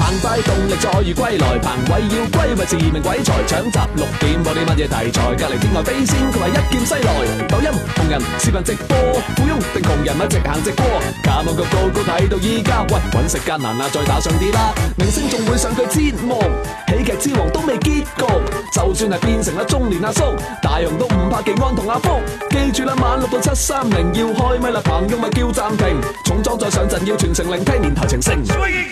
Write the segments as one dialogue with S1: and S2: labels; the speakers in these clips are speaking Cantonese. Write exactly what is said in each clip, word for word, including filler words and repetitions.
S1: 澎湃動力再遇歸來，彭偉要歸為自命鬼才，搶集六點播啲乜嘢題材？隔離天外飛仙，佢話一劍西來。抖音紅人視頻直播，富翁定窮人咪直行直過。假網個個個睇到依家，喂揾食艱難啊，再打上啲啦。明星仲會上佢節目，喜劇之王都未結局。就算係變成咗中年阿叔，大雄都唔怕技安同阿福。記住啦，晚六到七三零要開咪啦，彭勇咪叫暫停。重裝再上陣要全程聆聽年頭情聲。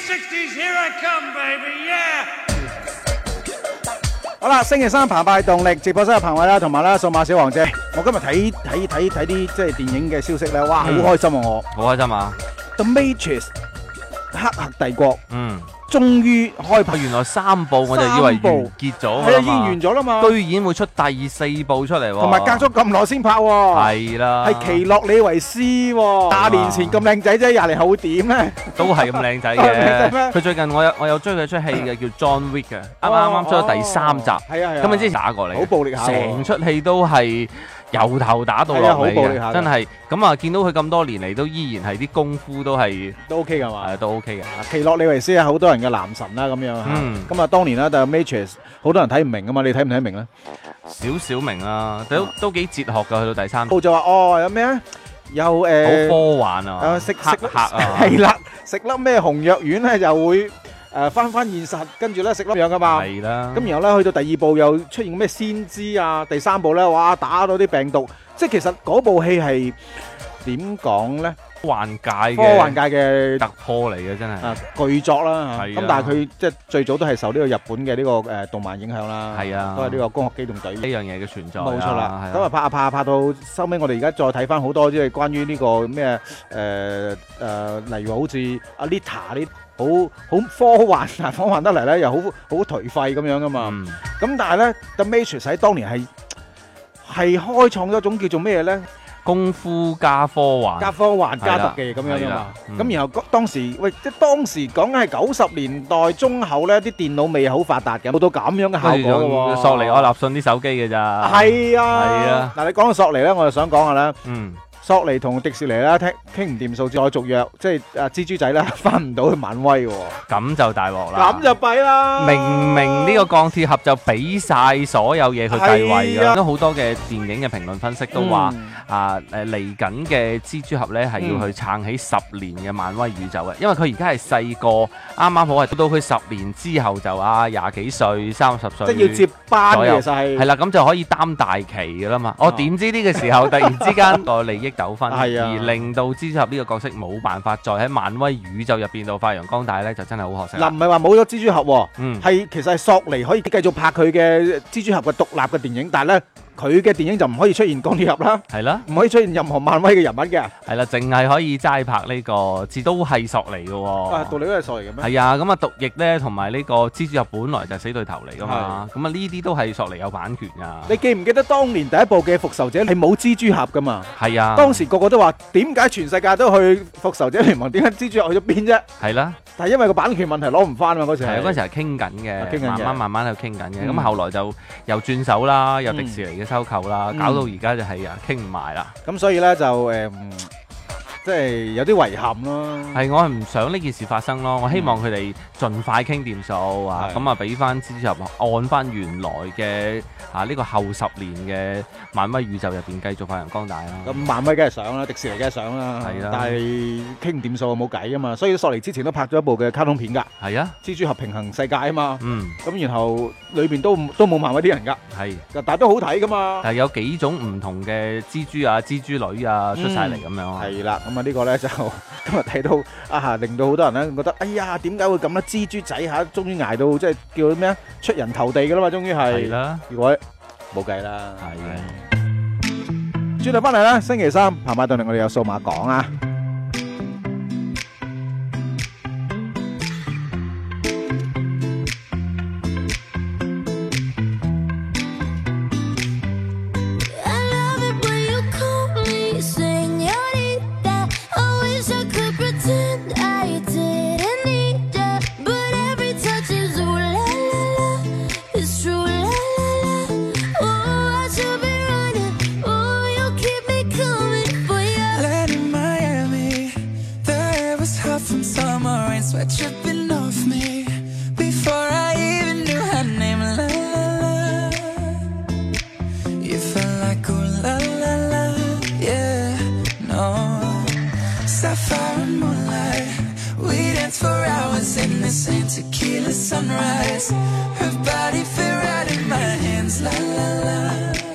S2: 好啦，星期三澎湃動力直播室有彭偉啦，同埋啦數碼小王姐。我今日睇睇睇睇啲即係電影嘅消息咧，哇，好開心啊！我
S3: 好開心啊
S2: The Matrix 黑客帝國，
S3: 嗯，
S2: 終於開拍，
S3: 原來三部我就以為完結咗
S2: 係啊，已經完咗啦嘛，
S3: 居然會出第四部出嚟喎，
S2: 同埋隔咗咁耐先拍喎，
S3: 係啦，
S2: 係奇洛李維斯喎，廿年前咁靚仔啫，廿年後會點咧？
S3: 都係咁靚仔嘅。佢最近我有我有追佢出戲嘅叫 John Wick 嘅，啱啱啱出咗第三集，
S2: 係啊係啊，
S3: 咁你之前打過嚟，
S2: 好暴力下，
S3: 成出戲都係由頭打到落尾嘅，真係咁啊！見到佢咁多年嚟都依然係啲功夫都係
S2: 都 OK 㗎嘛，
S3: 係都 OK 嘅。
S2: 奇洛李維斯係好多人嘅男神啦，咁樣嚇。咁啊，當年啦，但係 Matrix 好多人睇唔明㗎嘛，你睇唔睇明咧？
S3: 少少明啊，都都幾哲學㗎，去到第三部
S2: 就話哦，有咩啊？有誒，
S3: 好科幻啊！
S2: 食
S3: 黑客啊，
S2: 係啦，食粒咩紅藥丸咧，又會誒翻翻現實，跟住咧食粒樣噶嘛。
S3: 係啦。
S2: 咁然後咧去到第二部又出現咩先知啊，第三部咧哇打到啲病毒，即係其實嗰部戲係點講咧？
S3: 科幻界嘅
S2: 科幻界嘅
S3: 突破嚟嘅真係。
S2: 啊巨作啦，
S3: 係
S2: 咁但係佢即係最早都係受呢個日本嘅呢個誒動漫影響啦。
S3: 係啊，
S2: 都係呢個《攻殼機動隊》
S3: 呢樣嘢嘅存在。
S2: 冇錯啦。咁啊拍下拍下拍到收尾，我哋而家再睇翻好多即係關於呢個咩誒誒，例如好似阿 Lita 啲好好科幻，但科幻得嚟咧又好好頹廢咁樣噶嘛。咁但係咧 The Matrix 喺當年係係開創咗一種叫做咩咧？
S3: 功夫加科幻，
S2: 加科幻加特技咁樣噶嘛，咁然後當時喂，即係當時講緊係九十年代中後咧，啲電腦未好發達嘅，冇到咁樣嘅效果嘅喎。
S3: 索尼愛立信啲手機嘅咋？
S2: 係啊，
S3: 係啊。
S2: 嗱，你講到索尼咧，我就想講下啦。
S3: 嗯。
S2: 索尼同迪士尼啦，傾傾唔掂數，再續約，即係啊蜘蛛仔啦，翻唔到去漫威喎。
S3: 咁就大鑊啦！
S2: 咁就弊啦！
S3: 明明呢個鋼鐵俠就俾晒所有嘢佢繼位㗎，都好多嘅電影嘅評論分析都話啊誒嚟緊嘅蜘蛛俠咧係要去撐起十年嘅漫威宇宙嘅，因為佢而家係細個，啱啱好係到佢十年之後就啊廿幾歲、三十歲，
S2: 即係要接班嘅，其實係
S3: 係啦，咁就可以擔大旗㗎啦嘛。我點知呢個時候突然之間個利益糾紛，
S2: 係啊，
S3: 而令到蜘蛛俠呢個角色冇辦法再喺漫威宇宙入邊度發揚光大咧，就真係好可惜。
S2: 嗱，唔係話冇咗蜘蛛俠，
S3: 嗯，
S2: 係其實係索尼可以繼續拍佢嘅蜘蛛俠嘅獨立嘅電影，但係咧佢嘅電影就唔可以出現鋼鐵俠啦，
S3: 係啦，
S2: 唔可以出現任何漫威嘅人物嘅，
S3: 係啦，淨係可以齋拍呢個，字都係索尼嘅喎。
S2: 啊，道理都係索尼嘅咩？
S3: 係啊，咁啊毒液咧同埋呢個蜘蛛俠本來就係死對頭嚟噶嘛，咁啊呢啲都係索尼有版權㗎。
S2: 你記唔記得當年第一部嘅復仇者係冇蜘蛛俠㗎嘛？
S3: 係啊，
S2: 當時個個都話點解全世界都去復仇者聯盟，點解蜘蛛俠去咗邊啫？
S3: 係啦，
S2: 但係因為個版權問題攞唔翻嘛，嗰時係
S3: 嗰陣時係傾緊嘅，慢慢慢慢喺度傾緊嘅，咁、
S2: 嗯、
S3: 後來就又轉手啦，有迪士尼嘅收購啦，嗯、搞到而家就係啊傾唔埋啦。
S2: 咁所以咧就誒。嗯即係有啲遺憾咯，
S3: 係我係唔想呢件事發生咯，我希望佢哋盡快傾掂數啊，咁啊俾翻蜘蛛俠按翻原來嘅啊呢個後十年嘅漫威宇宙入邊繼續發揚光大啦。
S2: 咁漫威梗係想啦，迪士尼梗係想啦，
S3: 係啦，
S2: 但係傾唔掂數冇計啊嘛，所以索尼之前都拍咗一部嘅卡通片㗎，
S3: 係啊，
S2: 蜘蛛俠平衡世界啊嘛，
S3: 嗯，
S2: 咁然後裏邊都都冇漫威啲人㗎，
S3: 係，
S2: 但係都好睇㗎嘛，
S3: 但係有幾種唔同嘅蜘蛛啊、蜘蛛女啊出晒嚟咁樣，
S2: 係啦，咁啊呢個咧就今日睇到啊，令到好多人咧覺得，哎呀，點解會咁咧？蜘蛛仔嚇，終於捱到即係叫咩啊？出人頭地㗎啦嘛，終於係。係啦。如果冇計啦。係。轉頭翻嚟啦，星期三澎湃動力我哋有數碼講啊。
S4: the same tequila sunrise. Her body fit right in my hands, la la la.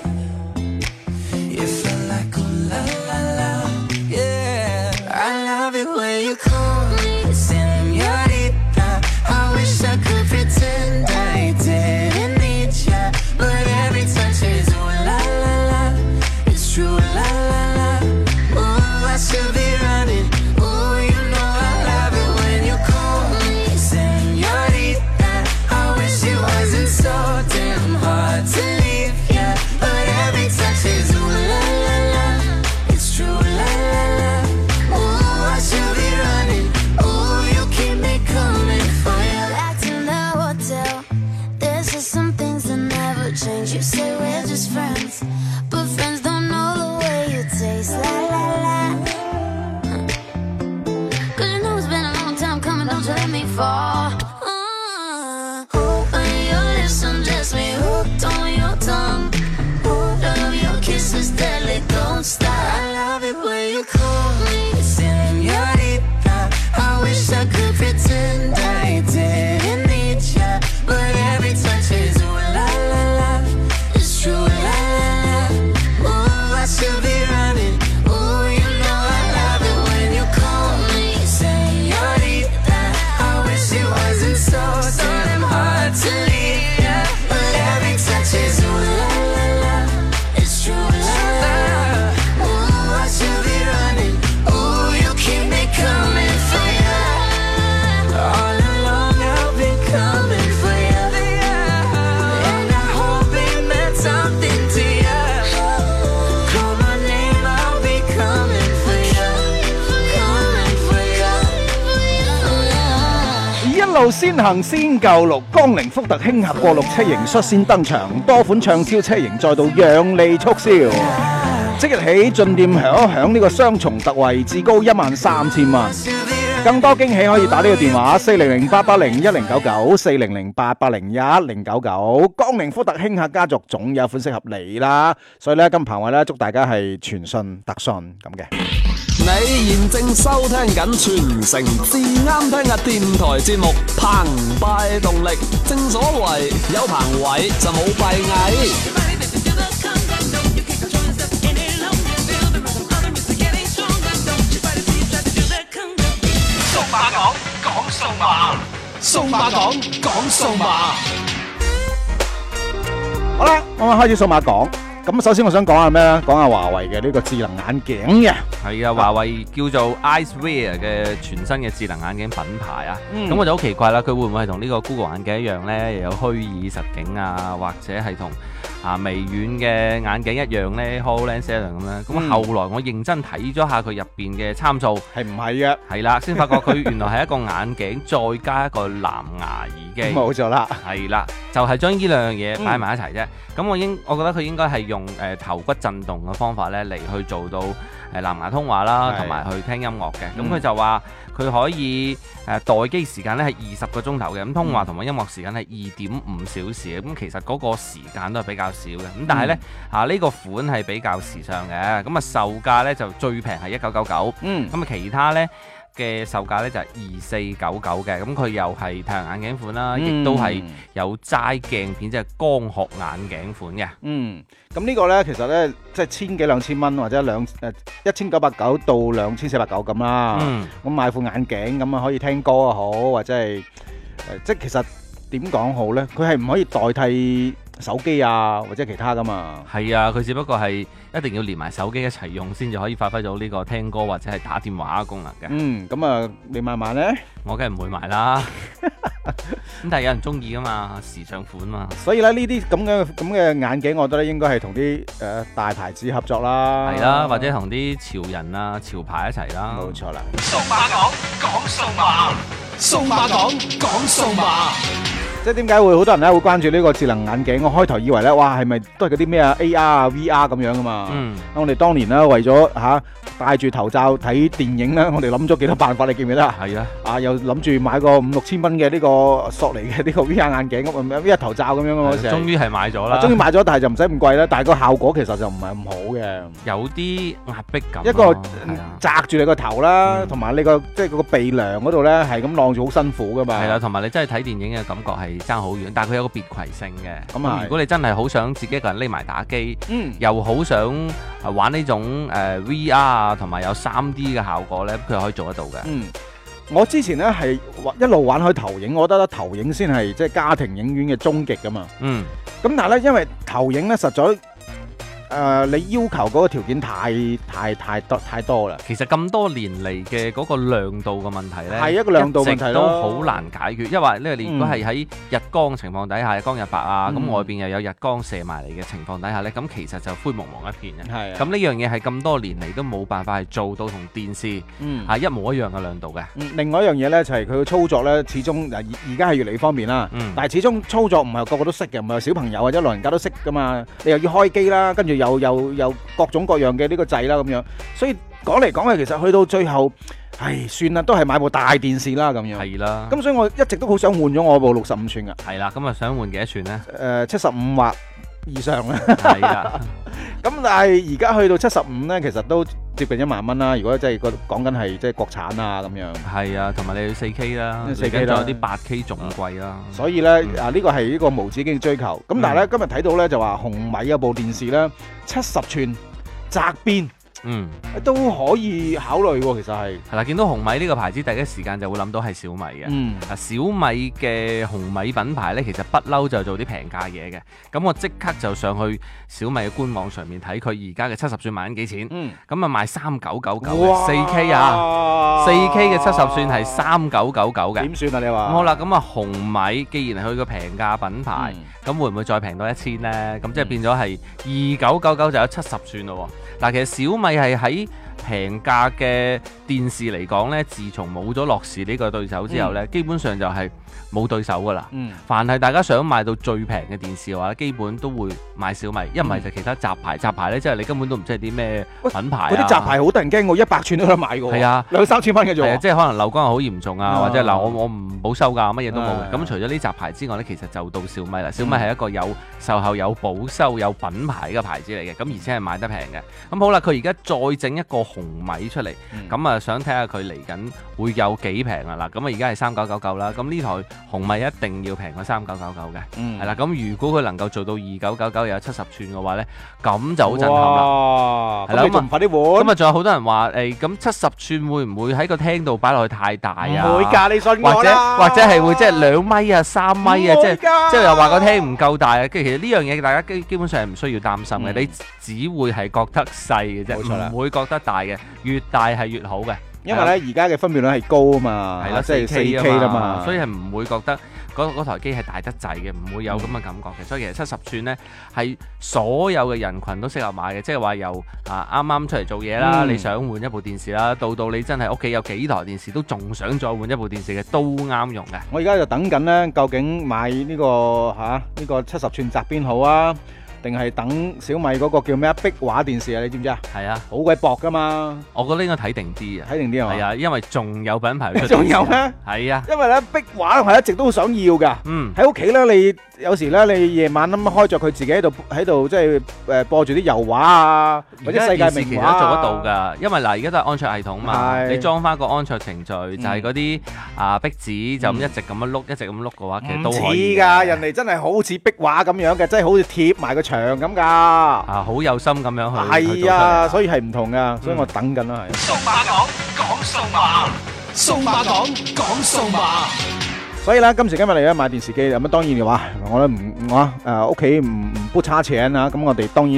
S4: It felt like oh la la la, yeah. I love it when you call me señorita. I wish I could pretend I didn't need ya, but every touch is ooh la la la. It's true la la la. Ooh, I should be running. Ooh, you know I love it when you call me señorita. I wish it wasn't so damn hard to leave ya, but every touch is ooh la la la. It's true la la la. Ooh, I should be running. Ooh, you keep me coming for ya.
S5: Back to the hotel. There's just some things that never change. You say we're just friends, but friends don't know the way you taste. La la la. Cause you know it's been a long time coming, don't you let me fall. Uh, when your lips undress me, hooked on your tongue. Love your kisses deadly, don't stop.
S4: I love it when you call me señorita. I wish I could pretend I didn't need ya, but every touch is ooh la la la. It's true la la la. Ooh, I should be running. Ooh, you know I love it when you call me señorita. I wish it wasn't so damn hard to leave ya, but every touch is ooh la la la. It's true la la la. Ooh, I should be running. Ooh, you keep me coming for ya. All along I've been coming for ya, and I hope it meant something to ya. Call my name, I'll be coming for ya, coming for ya.
S2: 一路先行先救路，江寧福特輕俠過陸車型率先登場，多款暢銷車型再度讓利促銷。即日起進店響一響呢個雙重特惠，至高一萬三千蚊。更多驚喜可以打呢個電話四零零八八零一零九九四零零八八零一零九九。江寧福特輕客家族總有款適合你啦，所以咧今棚位咧祝大家係全信特信咁嘅。
S1: 你現正收聽緊全城至啱聽嘅電台節目《澎湃動力》，正所謂有棚位就冇閉翳。數碼講講數碼，數碼講講數碼。
S2: 好啦，我哋開始數碼講。咁首先我想講下咩咧？講下華為嘅呢個智能眼鏡嘅。
S3: 係啊，華為叫做 Eyewear 嘅全新嘅智能眼鏡品牌啊。咁、嗯、我就好奇怪啦，佢會唔會係同呢個 Google 眼鏡一樣呢？又有虛擬實境啊，或者係同啊微軟嘅眼鏡一樣呢 HoloLens 一樣咁咧？咁、嗯、後來我認真睇咗下佢入邊嘅參數，
S2: 係唔係嘅？
S3: 係啦，先發覺佢原來係一個眼鏡再加一個藍牙耳機。
S2: 冇錯啦，
S3: 係啦，就係將呢兩樣嘢擺埋一齊啫。咁、嗯、我應我覺得佢應該係用誒、呃、頭骨震動嘅方法咧嚟去做到誒、呃、藍牙通話啦，同埋去聽音樂嘅。咁佢、嗯、就話佢可以誒、呃、待機時間咧係二十個鐘頭嘅，咁通話同埋音樂時間係二點五小時嘅。咁其實嗰個時間都係比較少嘅。咁但係咧嚇呢個款係比較時尚嘅。咁啊售價咧就最平係一九九九。嗯。咁啊其他咧嘅售價咧就係二四九九嘅，咁佢又係太陽眼鏡款啦，亦、嗯、都係有齋鏡片，即係光學眼鏡款嘅。嗯，
S2: 咁呢個咧其實咧即係千幾兩千蚊，或者兩誒一千九百九到兩千四百九咁啦。嗯，咁買副眼鏡咁啊可以聽歌啊好，或者係誒、呃、即係其實點講好咧？佢係唔可以代替手機啊或者其他噶嘛？
S3: 係啊，佢只不過係一定要連埋手機一齊用先至可以發揮到呢個聽歌或者係打電話嘅功能嘅。
S2: 嗯，咁啊，你買唔買咧？
S3: 我梗係唔會買啦。咁但係有人中意噶嘛，時尚款嘛。
S2: 所以咧呢啲咁嘅咁嘅眼鏡，我覺得咧應該係同啲誒大牌子合作啦。
S3: 係啦，或者同啲潮人啊、潮牌一齊啦。
S2: 冇錯啦。
S1: 數碼講講數碼，數碼講講數碼。
S2: 即係點解會好多人咧會關注呢個智能眼鏡？我開頭以為咧，哇，係咪都係嗰啲咩啊 A R 啊 V R 咁樣噶嘛？
S3: 嗯，
S2: 我哋當年咧為咗嚇戴住頭罩睇電影咧，我哋諗咗幾多辦法，你記唔記得啊？
S3: 係啊，
S2: 啊，又諗住買個五六千蚊嘅呢個索尼嘅呢個 V R 眼鏡咁啊 V R 頭罩咁樣嗰時，
S3: 終於係買咗啦。
S2: 終於買咗，但係就唔使咁貴啦。但係個效果其實就唔係咁好嘅，
S3: 有啲壓迫感咯。
S2: 一個
S3: 係啊
S2: 擲住你個頭啦，
S3: 嗯
S2: 同埋你個即係嗰個鼻梁嗰度咧係咁晾住好辛苦噶嘛。
S3: 係啦，同埋你真係睇電影嘅感覺係爭好遠，但係佢有個別攜性嘅。
S2: 咁啊
S3: 咁如果你真係好想自己一個人匿埋打機，
S2: 嗯。
S3: 又好想啊玩呢種誒 V R 啊，同埋有三 D 嘅效果咧，佢係可以做得到嘅。
S2: 嗯，我之前咧係一路玩開投影，我覺得投影先係即係家庭影院嘅終極噶嘛。
S3: 嗯，
S2: 咁但係咧，因為投影咧實在誒、呃、你要求嗰個條件太太太多太多啦。
S3: 其實咁多年嚟嘅嗰個亮度嘅問題咧，
S2: 係一個亮度問題咯，
S3: 一直都好難解決。因為咧，你如果係喺日光情況底下，日光日白啊，咁、
S2: 嗯、
S3: 外邊又有日光射埋嚟嘅情況底下咧，咁其實就灰蒙蒙一片嘅。
S2: 係
S3: 咁呢樣嘢係咁多年嚟都冇辦法係做到同電視
S2: 嗯
S3: 係一模一樣嘅亮度嘅。
S2: 嗯，另外一樣嘢咧就係佢嘅操作咧，始終而而家係越嚟越方便啦。
S3: 嗯
S2: 但係始終操作唔係個個都識嘅，唔係小朋友或者老人家都識噶嘛。你又要開機啦，跟住又又又各種各樣嘅呢個掣啦咁樣。所以講嚟講去，其實去到最後，唉，算啦，都係買部大電視啦咁樣。
S3: 係啦。
S2: 咁所以我一直都好想換咗我部六十五寸噶。
S3: 係啦，咁啊想換幾多寸呢？
S2: 誒，七十五或以上啦。
S3: 係啦。
S2: 咁但係而家去到七十五咧，其實都接近一萬蚊啦。如果即係個講緊係即係國產啊咁樣。
S3: 係啊，同埋你要四 K 啦，
S2: 四 K 啦，
S3: 仲有啲八 K 仲貴啦。
S2: 所以咧、嗯、啊，呢個係呢個無止境嘅追求。咁但係咧、嗯、今日睇到咧就話紅米有部電視咧七十寸窄邊。
S3: 嗯，
S2: 都可以考慮喎，其實係
S3: 係啦，見到紅米呢個牌子，第一時間就會諗到係小米嘅。
S2: 嗯，
S3: 啊，小米嘅紅米品牌呢，其實不嬲就做啲平價嘢嘅。咁我即刻就上去小米嘅官網上面睇佢而家嘅七十寸賣緊幾錢。嗯，咁啊賣三九九九嘅四 K 啊，四 K 嘅七十寸係三九九九嘅。
S2: 點算啊？你話？
S3: 好啦，咁啊紅米既然係佢個平價品牌，咁、嗯、會唔會再平多一千呢？咁即係變咗係二九九九就有七十寸咯。嗱，其實小米係喺平價嘅電視嚟講呢，自從冇咗樂視呢個對手之後呢、嗯，基本上就係冇對手噶啦。嗯，凡係大家想買到最平嘅電視嘅話，基本都會買小米，一唔係就其他雜牌。雜牌呢，即係你根本都唔知係啲咩品牌、啊。嗰啲雜牌好得人驚喎，一百寸都得買嘅喎。係啊，兩三千蚊嘅啫。即係可能漏光好嚴重啊，啊或者嗱我我唔保修㗎，乜嘢都冇嘅。咁、啊、除咗呢雜牌之外呢，其實就到小米啦。小米係一個有售後、有保修、有品牌嘅牌子嚟嘅，咁而且係買得平嘅。咁好啦，佢而家再整一個紅米出嚟，咁、嗯、啊想睇下佢嚟緊會有幾平啊！嗱，咁啊而家係三九九九啦，咁呢台紅米一定要平過三九九九嘅，係、嗯、啦。咁如果佢能夠做到二九九九又有七十寸嘅話咧，咁就好震撼啦。係啦，咁啊快啲換。咁啊仲有好多人話誒，咁七十寸會唔會喺個廳度擺落去太大啊？
S2: 唔會㗎，你信我啦。
S3: 或者或者係會即係兩米啊、三米啊，即係即係又話個廳唔夠大啊。跟住其實呢樣嘢大家基基本上係唔需要擔心嘅、嗯，你只會係覺得細嘅啫，唔會覺得大嘅，越大係越好嘅。
S2: 因為咧而家嘅分辨率係高啊嘛，係啦，即係四 K 啦嘛，
S3: 所以係唔會覺得嗰台機係大得滯嘅，唔會有咁嘅感覺嘅、嗯。所以其實七十寸呢係所有嘅人群都適合買嘅，即係話由啊啱啱出嚟做嘢啦、嗯，你想換一部電視啦，到到你真係屋企有幾台電視都仲想再換一部電視嘅，都啱用嘅。我而家就等緊呢，究竟買呢、呢個嚇呢、啊呢個七十寸窄邊好啊？定係等小米嗰個叫咩啊？壁畫電視啊，你知唔知啊？係啊，好鬼薄噶嘛！我覺得應該睇定啲啊，睇定啲係嘛？係啊，因為仲有品牌出。仲有咩？係啊，因為咧壁畫我一直都好想要噶。嗯，喺屋企咧，你有時咧，你夜晚咁開著佢自己喺度喺度，即係誒播住啲油畫啊，或者世界名畫啊，做得到㗎。因為嗱，而家都係安卓系統嘛，你裝翻個安卓程序，就係嗰啲啊壁紙就咁一直咁樣碌，一直咁碌嘅話，其實都可以。似㗎，人哋真係好似壁畫咁樣嘅，真係好似貼埋個牆咁噶，啊，好有心咁樣去，係啊，所以係唔同噶，所以我等緊啦，係。數碼講講數碼，數碼講講數碼。所以咧，今時今日嚟咧買電視機，咁啊當然嘅話，我咧唔我誒屋企唔唔不差錢啊，咁我哋當然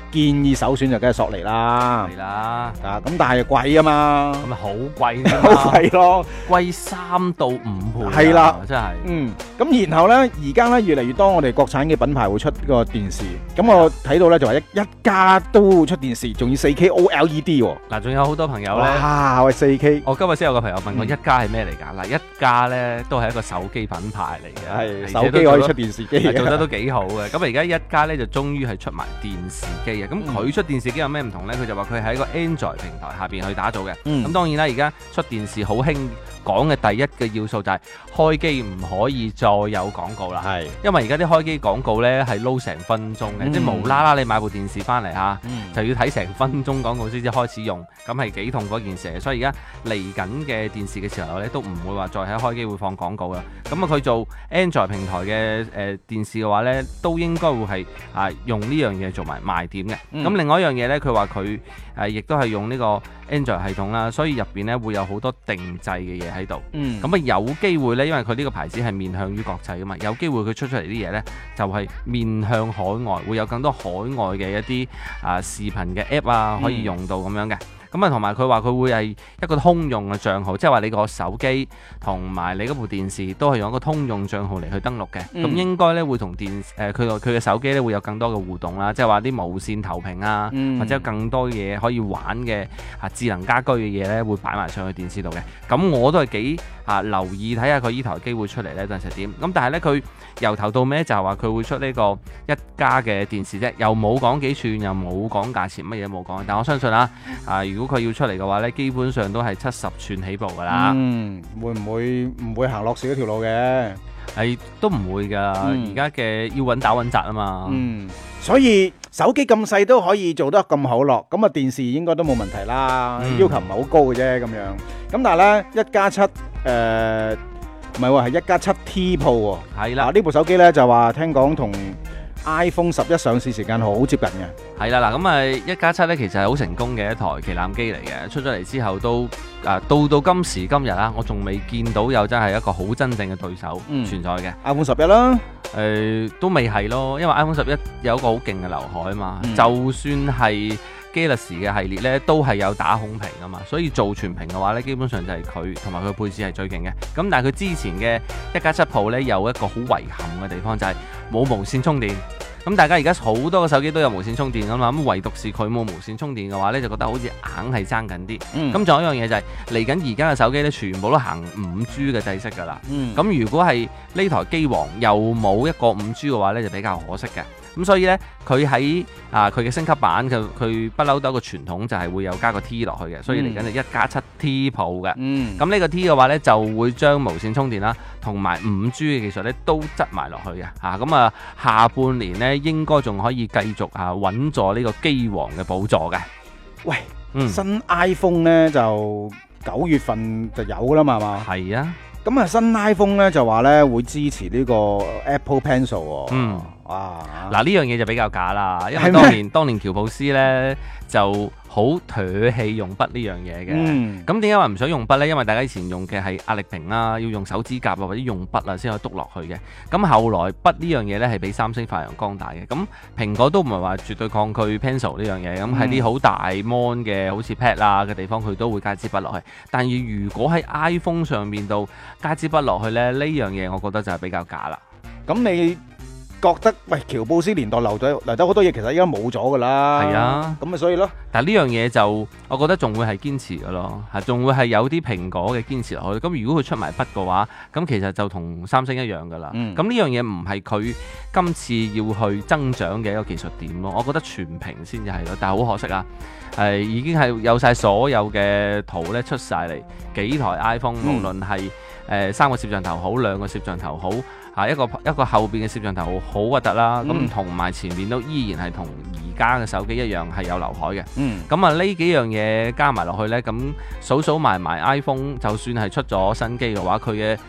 S2: 建議首選就梗係索尼啦。
S3: 係啦，
S2: 啊，咁但係貴啊嘛，
S3: 咁咪好貴添
S2: 好
S3: 啊，
S2: 貴咯。
S3: 貴三到五倍啊，
S2: 係啦
S3: 真係。
S2: 嗯，咁然後呢，而家呢，越嚟越多我哋國產嘅品牌會出個電視，咁我睇到呢，就話一一家都會出電視，仲要四 K O L E D 喎。
S3: 嗱，仲有好多朋友咧。
S2: 哇，喂四 K，
S3: 我今日先有個朋友問我
S2: 嗯
S3: 一加係咩嚟㗎？嗱，一加咧都係一個手機品牌嚟嘅，
S2: 係
S3: 而且
S2: 手機可以
S3: 都做得
S2: 出電視機嘅。
S3: 係做得都幾好嘅。咁而家一加咧就終於係出埋電視機嘅。咁
S2: 嗯
S3: 佢出電視機有咩唔同咧？佢就話佢喺一個 Android 平台下邊去打造嘅。
S2: 嗯
S3: 咁當然啦，而家出電視好興講嘅第一嘅要素就係開機唔可以再有廣告啦。
S2: 係，
S3: 因為而家啲開機廣告咧係撈成分鐘嘅，
S2: 嗯
S3: 即係無啦啦你買部電視翻嚟嚇。
S2: 嗯
S3: 就要睇成分鐘廣告先至開始用，咁係幾痛嗰件事。所以而家嚟緊嘅電視嘅時候咧，都唔會話再喺開機會放廣告啦。咁啊，佢做 Android 平台嘅誒、呃、電視嘅話咧，都應該會係啊用呢樣嘢做埋賣點嘅。咁、
S2: 嗯
S3: 另外一樣嘢咧，佢話佢誒亦都係用呢個 Android 系統啦，所以入邊咧會有好多定製嘅嘢喺度。
S2: 嗯，
S3: 咁啊有機會咧，因為佢呢個牌子係面向於國際噶嘛，有機會佢出出嚟啲嘢咧就係、面向海外，會有更多海外嘅一啲啊視頻嘅 app 啊可以用到咁樣嘅。咁啊同埋佢話佢會係一個通用嘅帳號，即係話你個手機同埋你嗰部電視都係用一個通用帳號嚟去登錄嘅。咁、
S2: 嗯
S3: 應該咧會同電誒佢個佢嘅手機咧會有更多嘅互動啦，即係話啲無線投屏啊，
S2: 嗯
S3: 或者有更多嘢可以玩嘅啊智能家居嘅嘢咧會擺埋上去電視度嘅。咁我都係幾啊留意睇下佢依台機會出嚟咧，陣時點。咁但係咧佢由頭到尾就係話佢會出呢個一加嘅電視啫，又冇講幾寸，又冇講價錢，乜嘢都冇講。但我相信啦，啊如果佢要出嚟嘅話咧，基本上都係七十寸起步㗎啦。
S2: 嗯，會唔會唔會行落市嗰條路嘅？
S3: 係都唔會㗎，
S2: 嗯
S3: 而家嘅要穩打穩紮啊嘛。
S2: 嗯，所以手機咁細都可以做得咁好咯，咁啊電視應該都冇問題啦，
S3: 嗯
S2: 要求唔係好高嘅啫咁樣。咁但係咧一加七誒唔係喎，係一加七 T Pro 喎。
S3: 係啦
S2: 嗱，呢部手機咧就話聽講同 iPhone 十一上市時間好接近嘅。
S3: 係啦，嗱咁啊一加七咧，其實係好成功嘅一台旗艦機嚟嘅，出咗嚟之後都啊到到今時今日啊，我仲未見到有真係一個好真正嘅對手
S2: 嗯
S3: 存在嘅。
S2: iPhone 十一啦，
S3: 誒、都未係咯，因為 iPhone 十一有一個好勁嘅劉海啊嘛，
S2: 嗯
S3: 就算係 Galaxy 嘅系列咧，都係有打孔屏啊嘛，所以做全屏嘅話咧，基本上就係佢同埋佢配置係最勁嘅。咁但係佢之前嘅一加七 Pro 咧，有一個好遺憾嘅地方就係、冇無線充電。咁大家而家好多個手機都有無線充電噶嘛，咁唯獨是佢冇無線充電嘅話咧，就覺得好似硬係爭緊啲。
S2: 嗯
S3: 咁仲、有一樣嘢就係嚟緊而家嘅手機咧，全部都行五 G 嘅制式㗎啦。
S2: 嗯
S3: 咁如果係呢台機王又冇一個五 G 嘅話咧，就比較可惜嘅。咁所以咧，佢喺啊佢嘅升級版，佢佢不嬲都有一個傳統，就係會有加個 T 落去嘅。所以嚟緊就一加七 T Pro 嘅。
S2: 嗯
S3: 咁呢個 T 嘅話咧，就會將無線充電啦，同埋五 G 嘅技術咧都執埋落去嘅。嚇咁啊，下半年咧應該仲可以繼續啊穩坐呢個機王嘅寶座嘅。
S2: 喂，
S3: 嗯，
S2: 新 iPhone 咧就九月份就有㗎啦嘛，係嘛？
S3: 係啊，
S2: 咁啊新 iPhone 咧就話咧會支持呢個 Apple Pencil 喎。
S3: 嗯，
S2: 哇，
S3: 嗱呢樣嘢就比較假啦，因為
S2: 係咩
S3: 當年當年喬布斯咧就好唾棄用筆呢樣嘢嘅。
S2: 嗯，
S3: 咁點解話唔想用筆呢？因為大家以前用嘅係壓力屏啦，要用手指甲啊或者用筆啊先可以篤落去嘅。咁後來筆呢樣嘢呢係俾三星發揚光大嘅。咁蘋果都唔係話絕對抗拒 Pencil 呢樣嘢。咁喺啲好大 mon 嘅好似 pad 啊嘅地方，佢都會加支筆落去。但係如果喺 iPhone 上面度加支筆落去呢，呢樣嘢我覺得就係比較假啦。
S2: 咁你覺得喂喬布斯年代留咗留咗好多嘢，其實依家冇咗㗎啦。
S3: 係啊，
S2: 咁咪所以咯。
S3: 但係呢樣嘢就我覺得仲會係堅持嘅咯，係仲會係有啲蘋果嘅堅持落去。咁如果佢出埋筆嘅話，咁其實就同三星一樣㗎啦。咁呢、
S2: 嗯
S3: 樣嘢唔係佢今次要去增長嘅一個技術點咯。我覺得全屏先至係咯，但係好可惜啊，係已經係有晒所有嘅圖咧出晒嚟，幾台 iPhone、
S2: 嗯
S3: 無論係誒、呃、三個攝像頭好，兩個攝像頭好。啊一個一個後邊嘅攝像頭好核突啦，咁同埋前面都依然係同而家嘅手機一樣係有劉海嘅。
S2: 嗯，
S3: 咁啊呢幾樣嘢加埋落去呢，咁數數埋埋 iPhone，就算係出咗新機嘅話，佢嘅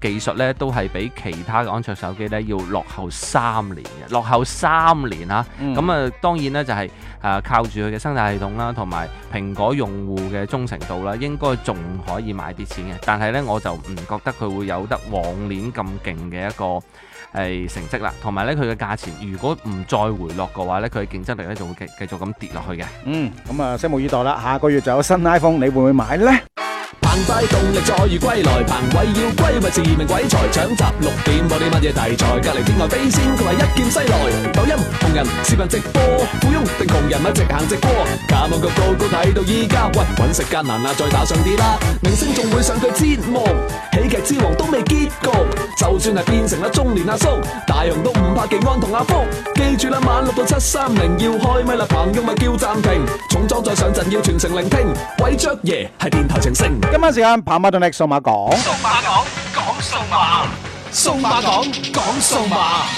S3: 技術咧都係比其他嘅安卓手機咧要落後三年嘅，落後三年嚇。咁啊、嗯，當然咧就係、是、誒、呃、靠住佢嘅生態系統啦，同埋蘋果用戶嘅忠誠度啦，應該仲可以買啲錢嘅。但係咧我就唔覺得佢會有得往年咁勁嘅一個係成績啦，同埋咧佢嘅價錢如果唔再回落嘅話咧，佢嘅競爭力咧就會繼繼續咁跌落去嘅。
S2: 嗯，咁啊，拭目以待啦。下個月就有新 iPhone，你會唔會買呢？
S1: 澎湃動力再遇歸來，彭偉要歸咪自命鬼才，搶集六點播啲乜嘢題材？隔離天外飛仙，佢話一劍西來。抖音紅人視頻直播，富翁定窮人咪直行直過。卡網個個個睇到依家，喂揾食艱難啊，再打上啲啦。明星仲會上佢節目，喜劇之王都未結局。就算係變成咗中年阿叔，大雄都唔怕技安同阿福。記住啦，晚六到七三零要開咪啦，朋友咪叫暫停。重裝再上陣要全程聆聽，鬼雀爺係電台情聖。
S2: 今晚時間跑馬動力數碼講，
S1: 數碼講講數碼，數碼講講數碼。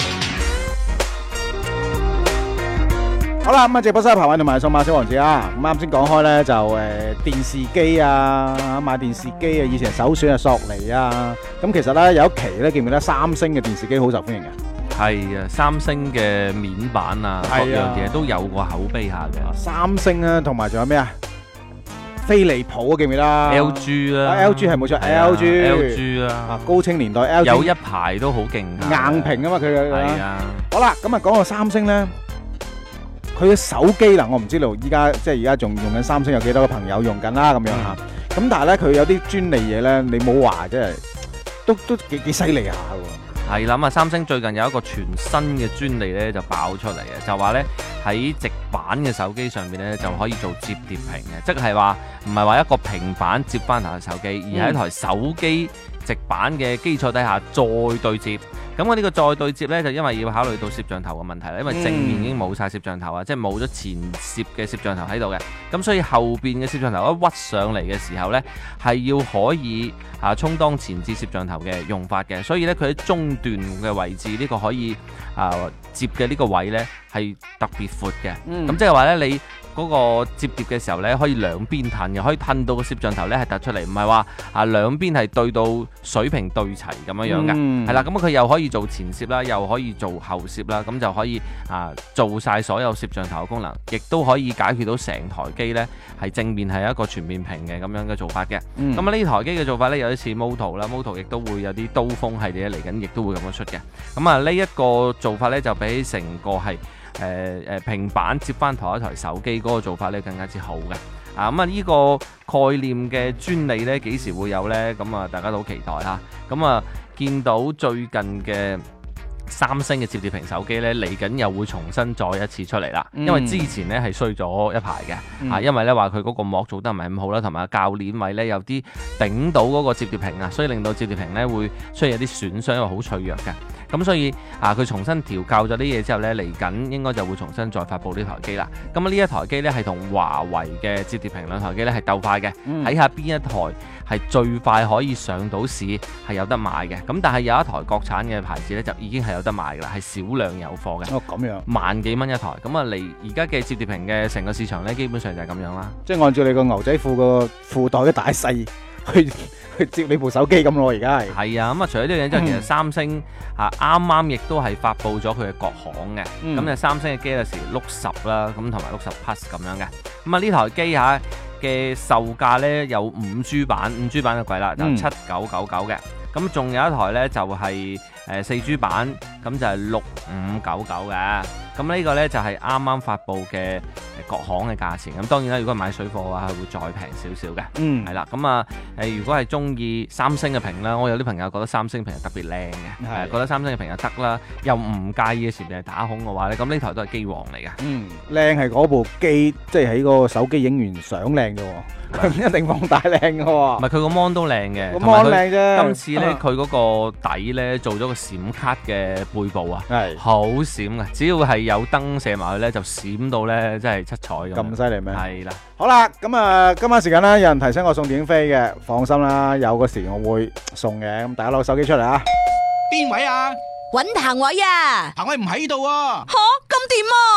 S2: 好啦，咁啊，直播室彭偉同埋數碼小王子啊，咁啱先講開咧就誒電視機啊，買電視機啊，以前首選係索尼啊，咁其實咧有一期咧記唔記得三星嘅電視機好受歡迎嘅？
S3: 係啊，三星嘅面板啊，各樣嘢都有個口碑下嘅。
S2: 三星啊，同埋仲有咩啊？飛利浦啊，記唔記得
S3: ？L G 啦
S2: ，L G 係冇錯 ，L G，L
S3: G 啦，
S2: 啊高清年代 L G
S3: 有一排都好勁，
S2: 硬屏啊嘛佢嘅。
S3: 係啊。
S2: 好啦，咁啊講到三星咧，佢嘅手機嗱，我唔知道依家即係而家仲用緊三星有幾多個朋友用緊啦咁樣嚇。咁、嗯、但係咧佢有啲專利嘢咧，你冇話即係都都幾幾犀利下喎。
S3: 係啦，咁啊，三星最近有一個全新嘅專利咧就爆出嚟嘅，就話咧喺直板嘅手機上面咧就可以做摺疊屏嘅，即係話唔係話一個平板接翻台手機，而係一台手機直板嘅基礎底下再對摺。咁我呢個再對摺呢，就因為要考慮到攝像頭嘅問題啦，因為正面已經冇晒攝像頭啊，嗯、即係冇咗前攝嘅攝像頭喺度嘅，咁所以後邊嘅攝像頭一屈上嚟嘅時候呢，係要可以啊充當前置攝像頭嘅用法嘅，所以呢，佢喺中段嘅位置呢、呢個可以啊摺嘅呢個位呢，係特別闊嘅，咁、嗯、即係話呢，你嗰個摺疊嘅時候呢，可以兩邊褪嘅，可以褪到個攝像頭呢係突出嚟，唔係話啊兩邊係對到水平對齊咁樣樣嘅，係啦、嗯，咁佢又可以做前攝啦，又可以做後攝啦，咁就可以啊做晒所有攝像頭嘅功能，亦都可以解決到成台機呢係正面係一個全面屏嘅咁樣嘅做法嘅。咁啊呢台機嘅做法呢，有啲似 Moto 啦 ，Moto 亦都會有啲刀鋒系列嚟緊，亦都會咁樣出嘅。咁啊呢一個做法呢，就比起成個係誒誒平板接翻台一台手機嗰個做法呢更加之好嘅。啊咁啊呢個概念嘅專利呢，幾時會有呢？咁啊大家都好期待嚇。咁啊見到最近嘅三星嘅摺疊屏手機呢，嚟緊又會重新再一次出嚟啦。因為之前呢係衰咗一排嘅，嗯、啊因為呢話佢嗰個膜做得唔係咁好啦，同埋鉸鏈位呢有啲頂到嗰個摺疊屏啊，所以令到摺疊屏呢會出現一啲損傷，因為好脆弱嘅。咁所以啊，佢重新調校咗啲嘢之後呢，嚟緊應該就會重新再發布呢台機啦。咁啊呢一台機呢，係同華為嘅摺疊屏兩台機呢係鬥快嘅，睇、嗯、下邊一台係最快可以上到市係有得買嘅。咁但係有一台國產嘅牌子呢，就已經係有得買㗎啦，係少量有貨嘅。
S2: 哦，咁樣
S3: 萬幾蚊一台。咁啊嚟而家嘅摺疊屏嘅成個市場呢，基本上就係咁樣啦。
S2: 即係按照你個牛仔褲個褲袋嘅大細去。去接你部手機咁咯，而家係
S3: 係啊，咁啊除咗呢樣嘢之後，其實三星啊啱啱亦都係發布咗佢嘅國行嘅，咁就、嗯、三星嘅 Galaxy Note 十啦，咁同埋 Note 十 Plus 咁樣嘅，咁啊呢台機下嘅售價咧有五 G 版，五 G 版就貴啦，就七九九九嘅，咁仲、嗯、有一台咧就係誒四 G 版，咁就係六五九九嘅，咁呢個咧就係啱啱發布嘅國行嘅價錢，咁當然啦，如果買水貨嘅話，係會再平少少嘅。嗯，係啦，咁啊，誒，如果係中意三星嘅屏啦，我有啲朋友覺得三星屏係特別靚嘅，係覺得三星嘅屏就得啦，又唔介意嘅前面係打孔嘅話咧，咁呢台都係機王嚟嘅。嗯，
S2: 靚係嗰部機，即係喺個手機影完相靚啫喎，佢唔一定放大靚嘅喎。唔係，
S3: 佢個 mon 都靚嘅，
S2: 個 mon 靚啫。
S3: 今次咧，佢嗰個底咧做咗個閃卡嘅背部啊，係好閃嘅，只要係有燈射埋去咧，就閃到咧，真係七彩咁。
S2: 咁犀利咩？
S3: 係啦，
S2: 好啦，咁啊，今晚時間咧，有人提醒我送電影飛嘅，放心啦，有個時我會送嘅，咁大家攞手機出嚟啊！
S6: 邊位啊？
S7: 搵彭偉啊！
S6: 彭偉唔喺度啊！
S7: 吓，咁點啊？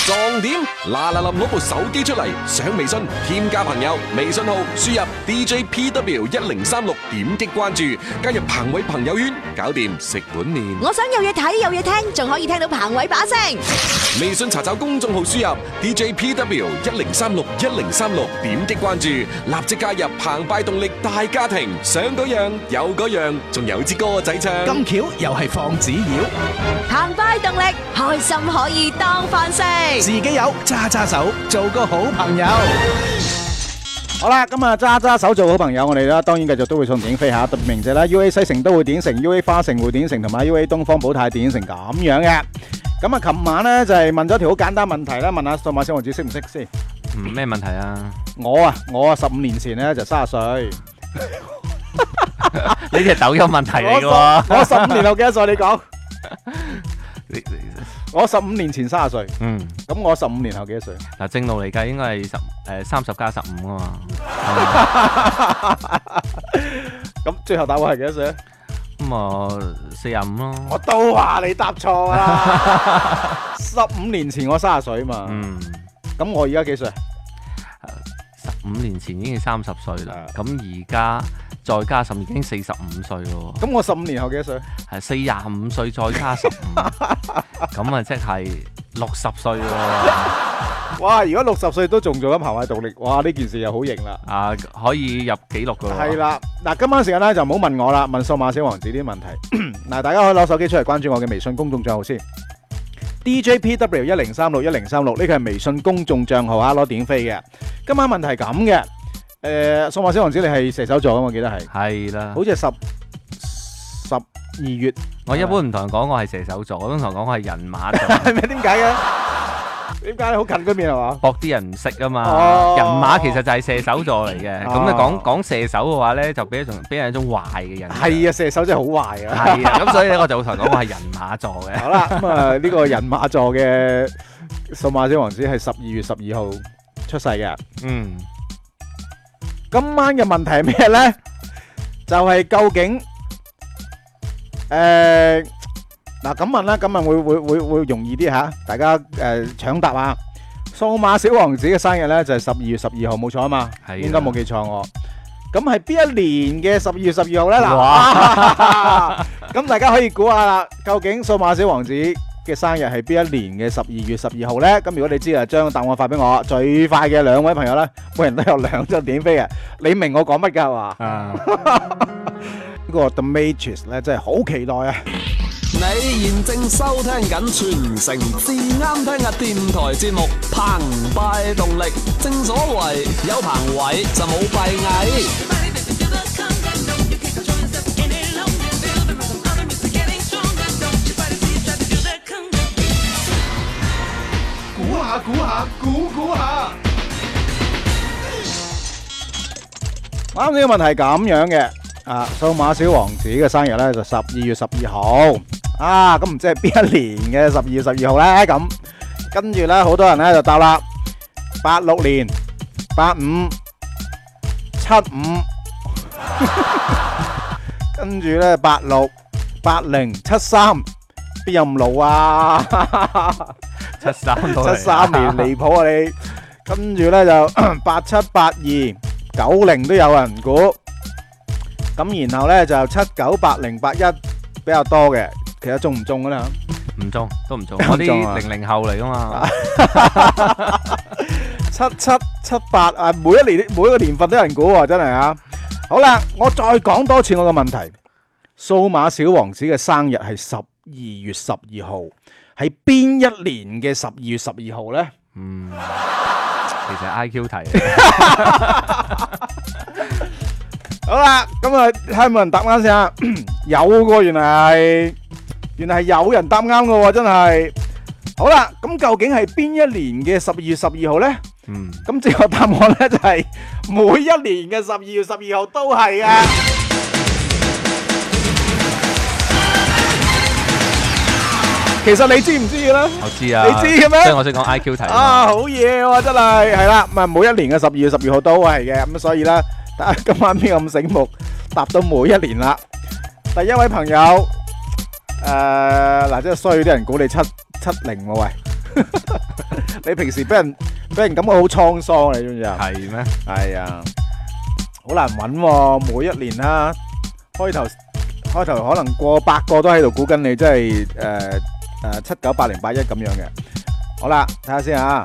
S1: 撞點嗱嗱臨攞部手機出嚟，上微信添加朋友，微信號輸入 D J P W 一零三六，點擊關注，加入彭偉朋友圈，搞掂食碗麵。
S6: 我想有嘢睇有嘢聽，仲可以聽到彭偉把聲。
S1: 微信查找公眾號輸入 D J P W 一零三六一零三六，點擊關注，立即加入澎湃動力大家庭，想嗰樣有嗰樣，仲有支歌仔唱。
S7: 咁巧又係放紙鷂，
S6: 澎湃動力，開心可以當飯食。
S7: 自己有揸揸手，做個好朋友。
S2: 好啦，咁啊揸揸手做好朋友，我哋啦當然繼續都會送電影飛下，特別鳴謝啦 U A 西城都會電影城、U A 花城會電影城同埋 U A 東方寶泰電影城咁樣嘅。咁啊，琴晚咧就係問咗條好簡單問題啦，問下數碼小王子識唔識先？
S3: 嗯，咩問題啊？
S2: 我啊，我啊十五年前咧就三十歲。
S3: 呢啲係抖音問題嚟嘅喎。
S2: 我十五年後幾多歲？你講。
S3: 你你
S2: 我十五年前三十歲。
S3: 嗯，
S2: 咁我十五年後幾多歲？
S3: 嗱，正路嚟計應該係十誒三十加十五啊嘛。
S2: 咁最後答案係幾多歲咧？
S3: 咁啊四十五咯。
S2: 我都話你答錯啦！十五年前我三十歲嘛。
S3: 嗯。
S2: 咁我而家幾歲？
S3: 十五年前已經三十歲啦，咁而家再加十已經四十五歲咯。
S2: 咁我十五年後幾多歲？
S3: 係四廿五歲再加十五，咁啊即係六十歲喎。
S2: 哇！如果六十歲都仲做緊澎湃動力，哇！呢件事又好型啦。
S3: 啊，可以入紀錄噶喎。
S2: 係啦，嗱，今晚時間咧就唔好問我啦，問數碼小王子啲問題。嗱，大家可以攞手機出嚟關注我嘅微信公眾帳號先。D J P W 一零三六一零三六呢個係微信公眾帳號啊，攞電飛嘅。今晚問題係咁嘅，誒，數碼小王子你係射手座啊，我記得係。
S3: 係啦。
S2: 好似係十十二月。
S3: 我一般唔同人講我係射手座，我都同人講我係人馬座。
S2: 係咪？點解嘅？點解好近嗰邊係嘛？
S3: 博啲人唔識啊嘛。
S2: 哦。
S3: 人馬其實就係射手座嚟嘅，咁你講講射手嘅話咧，就俾一種俾人一種壞嘅人。
S2: 係啊，射手真係好壞啊。
S3: 係啊，咁所以咧我就會同人講我係人馬座嘅。
S2: 好啦，咁啊呢個人馬座嘅數碼小王子係十二月十二號出世嘅。
S3: 嗯。
S2: 今晚嘅問題係咩咧？就係究竟誒嗱咁問啦，咁問會會會會容易啲吓，大家誒搶答啊！數碼小王子嘅生日咧就係十二月十二號，冇錯啊嘛，應該冇記錯我。咁係邊一年嘅十二月十二號咧？嗱，咁大家可以估下啦，究竟數碼小王子嘅生日係邊一年嘅十二月十二號咧？咁如果你知啊，將答案發俾我，最快嘅兩位朋友咧，每人都有兩張電影飛嘅。你明我講乜㗎係嘛？
S3: 啊！
S2: 呢個 The Matrix 咧真係好期待啊！
S1: 你現正收聽緊全城至啱聽嘅電台節目《澎湃動力》，正所謂有彭偉就冇閉翳。
S7: 估下估下估估下。
S2: 啱先嘅問題係咁樣嘅，啊，數碼小王子嘅生日咧就十二月十二號，啊，咁唔知係邊一年嘅十二月十二號咧？咁跟住咧，好多人咧就答啦，八六年、八五、七五，跟住咧八六、八零、七三，邊有咁老啊？
S3: 七三到
S2: 七三年離譜啊你！跟住咧就八七、八二。九零都有人估，咁然後咧就七九八零八一比較多嘅，其實中唔中噶啦？
S3: 唔中，都唔中，我啲零零後嚟噶嘛。
S2: 七七七八啊，每一年每一個年份都有人估喎，真係啊！好啦，我再講多次我個問題：數碼小王子嘅生日係十二月十二號，係邊一年嘅十二月十二號咧？
S3: 嗯。其實係 I Q 題，
S2: 好啦，咁啊睇下有冇人答啱先啊？有喎，原來係原來係有人答啱嘅喎，真係。好啦，咁究竟係邊一年嘅十二月十二號咧？
S3: 嗯，
S2: 咁正確答案咧就係每一年嘅十二月十二號都係嘅。其實你知唔知嘅咧？
S3: 我知啊，
S2: 你知嘅咩？
S3: 所以我識講 I Q 題
S2: 啊，好嘢喎，真係係啦，咁啊每一年嘅十二月十二號都係嘅，咁所以咧，睇下今晚邊個咁醒目，答到每一年啦。第一位朋友，誒嗱，即係衰啲人估你七七零喎，喂， 你平時俾人俾人感覺好滄桑，你知唔知啊？
S3: 係咩？
S2: 係啊，好難揾喎，每一年啦，開頭開頭可能過百個都喺度估緊你，真係誒誒七九八零八一咁樣嘅。好啦，睇下先啊，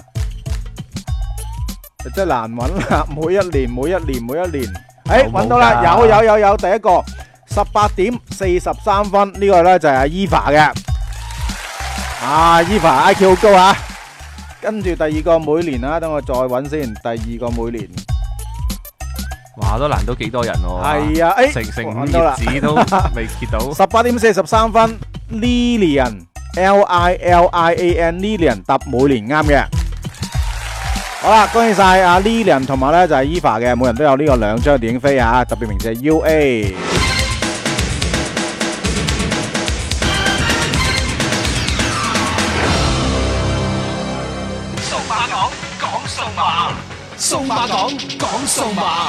S2: 真係難揾啦，每一年每一年每一年，誒揾到啦，有有有有，第一個十八點四十三分，呢個咧就係阿 Eva 嘅，啊 Eva I Q 好高啊！跟住第二個每年啊，等我再揾先，第二個每年。
S3: 哇，都難到幾多人喎？
S2: 係啊，誒，
S3: 成成五
S2: 揾到啦
S3: 頁紙都未揭到。
S2: 十八點四十三分 ，Lilian L I L I A N Lilian 答每年啱嘅。好啦，恭喜晒阿 Lilian 同埋咧就係 Eva 嘅，每人都有呢個兩張電影飛啊，特別名字係 U A。
S7: 數碼講講數碼，數碼講講數碼。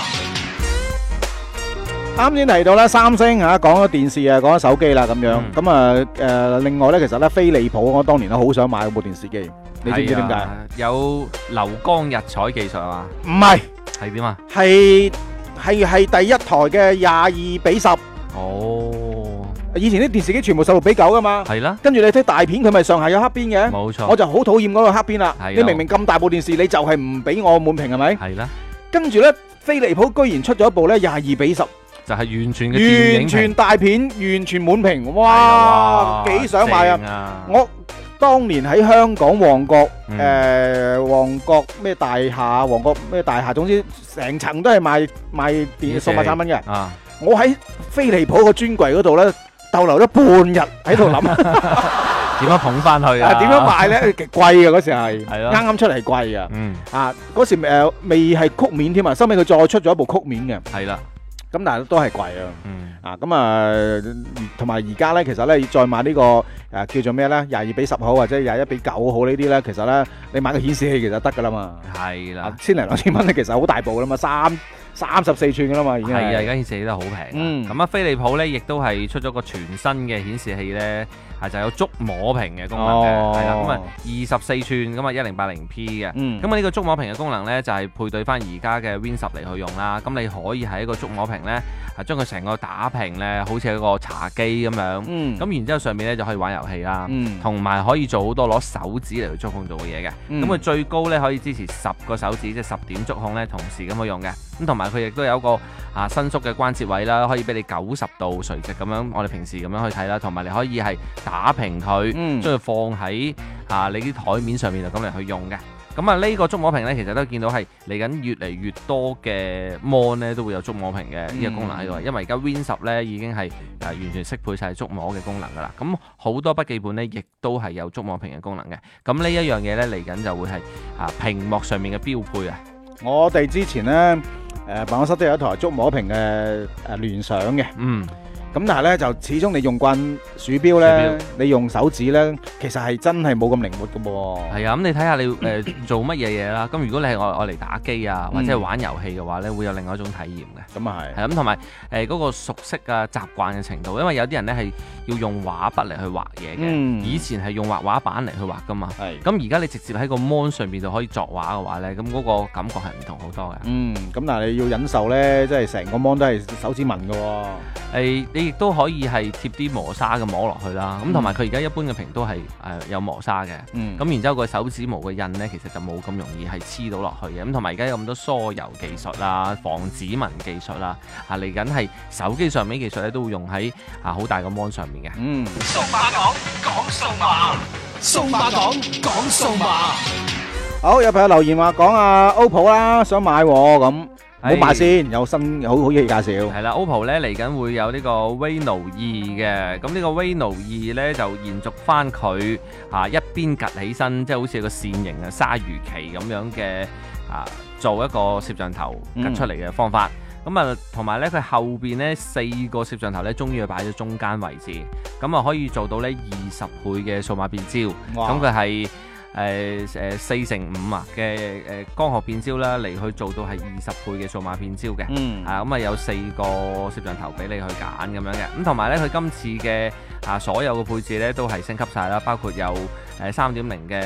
S2: 啱先提到咧，三星嚇講咗電視啊，講咗手機啦咁樣。咁啊誒，另外咧，其實咧，飛利浦我當年都好想買嗰部電視機，你知唔知點解？
S3: 有流光溢彩技術啊嘛？
S2: 唔係，
S3: 係點啊？
S2: 係係係第一台嘅廿二比十。
S3: 哦，
S2: 以前啲電視機全部十六比九噶嘛。
S3: 係啦。
S2: 跟住你睇大片，佢咪上下有黑邊嘅。
S3: 冇錯。
S2: 我就好討厭嗰個黑邊啦。
S3: 係。
S2: 你明明咁大部電視，你就係唔俾我滿屏係咪？
S3: 係啦。
S2: 跟住咧，飛利浦居然出咗一部咧廿二比十。
S3: 就係完全嘅電影
S2: 完全大片，完全滿屏，哇！幾想買啊！我當年喺香港旺角，誒旺角咩大廈，旺角咩大廈，總之成層都係賣賣電數碼產品嘅。我喺飛利浦個專櫃嗰度咧，逗留咗半日喺度諗
S3: 點樣捧翻去啊？
S2: 點樣賣咧？極貴嘅嗰時係，
S3: 係咯，
S2: 啱啱出嚟貴嘅。
S3: 嗯，啊
S2: 嗰時誒未係曲面添啊，收尾佢再出咗一部曲面嘅。
S3: 係啦。
S2: 咁但係都係貴啊！
S3: 嗯、
S2: 啊咁啊，同埋而家咧，其實咧再買呢、呢個誒、啊、叫做咩咧？廿二比十好或者廿一比九好呢啲咧，其實咧你買個顯示器其實得噶啦嘛。
S3: 係啦，
S2: 千零兩千蚊咧，其實好大部啦嘛，三三十四寸噶啦嘛，已經係。係啊，
S3: 而家顯示器都好平。嗯。咁啊，飛利浦咧亦都係出咗個全新嘅顯示器咧。係就有觸摸屏嘅功能嘅，係啦，咁啊二十四寸，咁啊一零八零 P 嘅，咁啊呢個觸摸屏嘅功能咧就係配對翻而家嘅 Win 十嚟去用啦，咁你可以喺一個觸摸屏咧，係將佢成個打屏咧，好似一個茶几咁樣，咁然之後上面咧就可以玩遊戲啦，同埋可以做好多攞手指嚟去觸控做嘅嘢嘅，咁佢最高咧可以支持十個手指，即係十點觸控咧同時咁去用嘅，咁同埋佢亦都有一個啊伸縮嘅關節位啦，可以俾你九十度垂直咁樣，我哋平時咁樣去睇啦，同埋你可以係打平佢，將佢、嗯、放喺啊你啲台面上面就咁嚟去用嘅。咁啊呢個觸摸屏咧，其實都見到係嚟緊越嚟越多嘅 mon 咧都會有觸摸屏嘅呢個功能喺度。嗯、因為而家 Win 十咧已經係啊完全適配晒觸摸嘅功能噶啦。咁好多筆記本咧亦都係有觸摸屏嘅功能嘅。咁呢一樣嘢咧嚟緊就會係啊屏幕上面嘅標配啊。
S2: 我哋之前咧誒、呃、辦公室都有一台觸摸屏嘅誒聯想嘅。嗯。咁但係咧就始終你用慣鼠標咧，你用手指咧，其實係真係冇咁靈活嘅噃。
S3: 係啊，咁你睇下你誒做乜嘢嘢啦？咁如果你係愛愛嚟打機啊，或者係玩遊戲嘅話咧，會有另外一種體驗嘅。咁啊係。係咁同埋誒嗰個熟悉啊習慣嘅程度，因為有啲人咧係要用畫筆嚟去畫嘢嘅，以前係用畫畫板嚟去畫噶嘛。係。咁而家你直接喺個 mon 上邊就可以作畫嘅話咧，咁嗰個感覺係唔同好多嘅。嗯。咁但係你要忍受咧，即係成個 mon 都係手指紋嘅喎。誒。你亦都可以係貼啲磨砂嘅膜落去啦，咁同埋佢而家一般嘅屏都係誒有磨砂嘅，咁、嗯、然之後個手指模嘅印呢，其實就冇咁容易係黐到落去嘅，咁同埋而家有咁多疏油技術啦、防指紋技術啦，啊嚟緊係手機上面技術咧都會用喺啊好大個 mon 上面嘅。嗯，
S7: 數碼講講數碼，數碼講講數碼。
S2: 好，有朋友留言話講啊 O P P O 啦，想買咁。唔好買先，有新好好嘢介紹。
S3: 係啦 ，O P P O 咧嚟緊會有呢個 Reno 二嘅，咁呢個 Reno 二咧就延續翻佢啊一邊趌起身，即係好似個扇形嘅鯊魚鰭咁樣嘅啊，做一個攝像頭趌出嚟嘅方法。咁啊，同埋咧佢後邊咧四個攝像頭咧，終於係擺咗中間位置，咁啊可以做到咧二十倍嘅數碼變焦。咁佢係。誒誒四乘五啊嘅誒光學變焦啦，嚟去做到係二十倍嘅數碼變焦嘅，嗯，啊咁啊有四個攝像頭俾你去揀咁樣嘅，咁同埋咧佢今次嘅啊所有嘅配置咧都係升級晒啦，包括有誒三點零嘅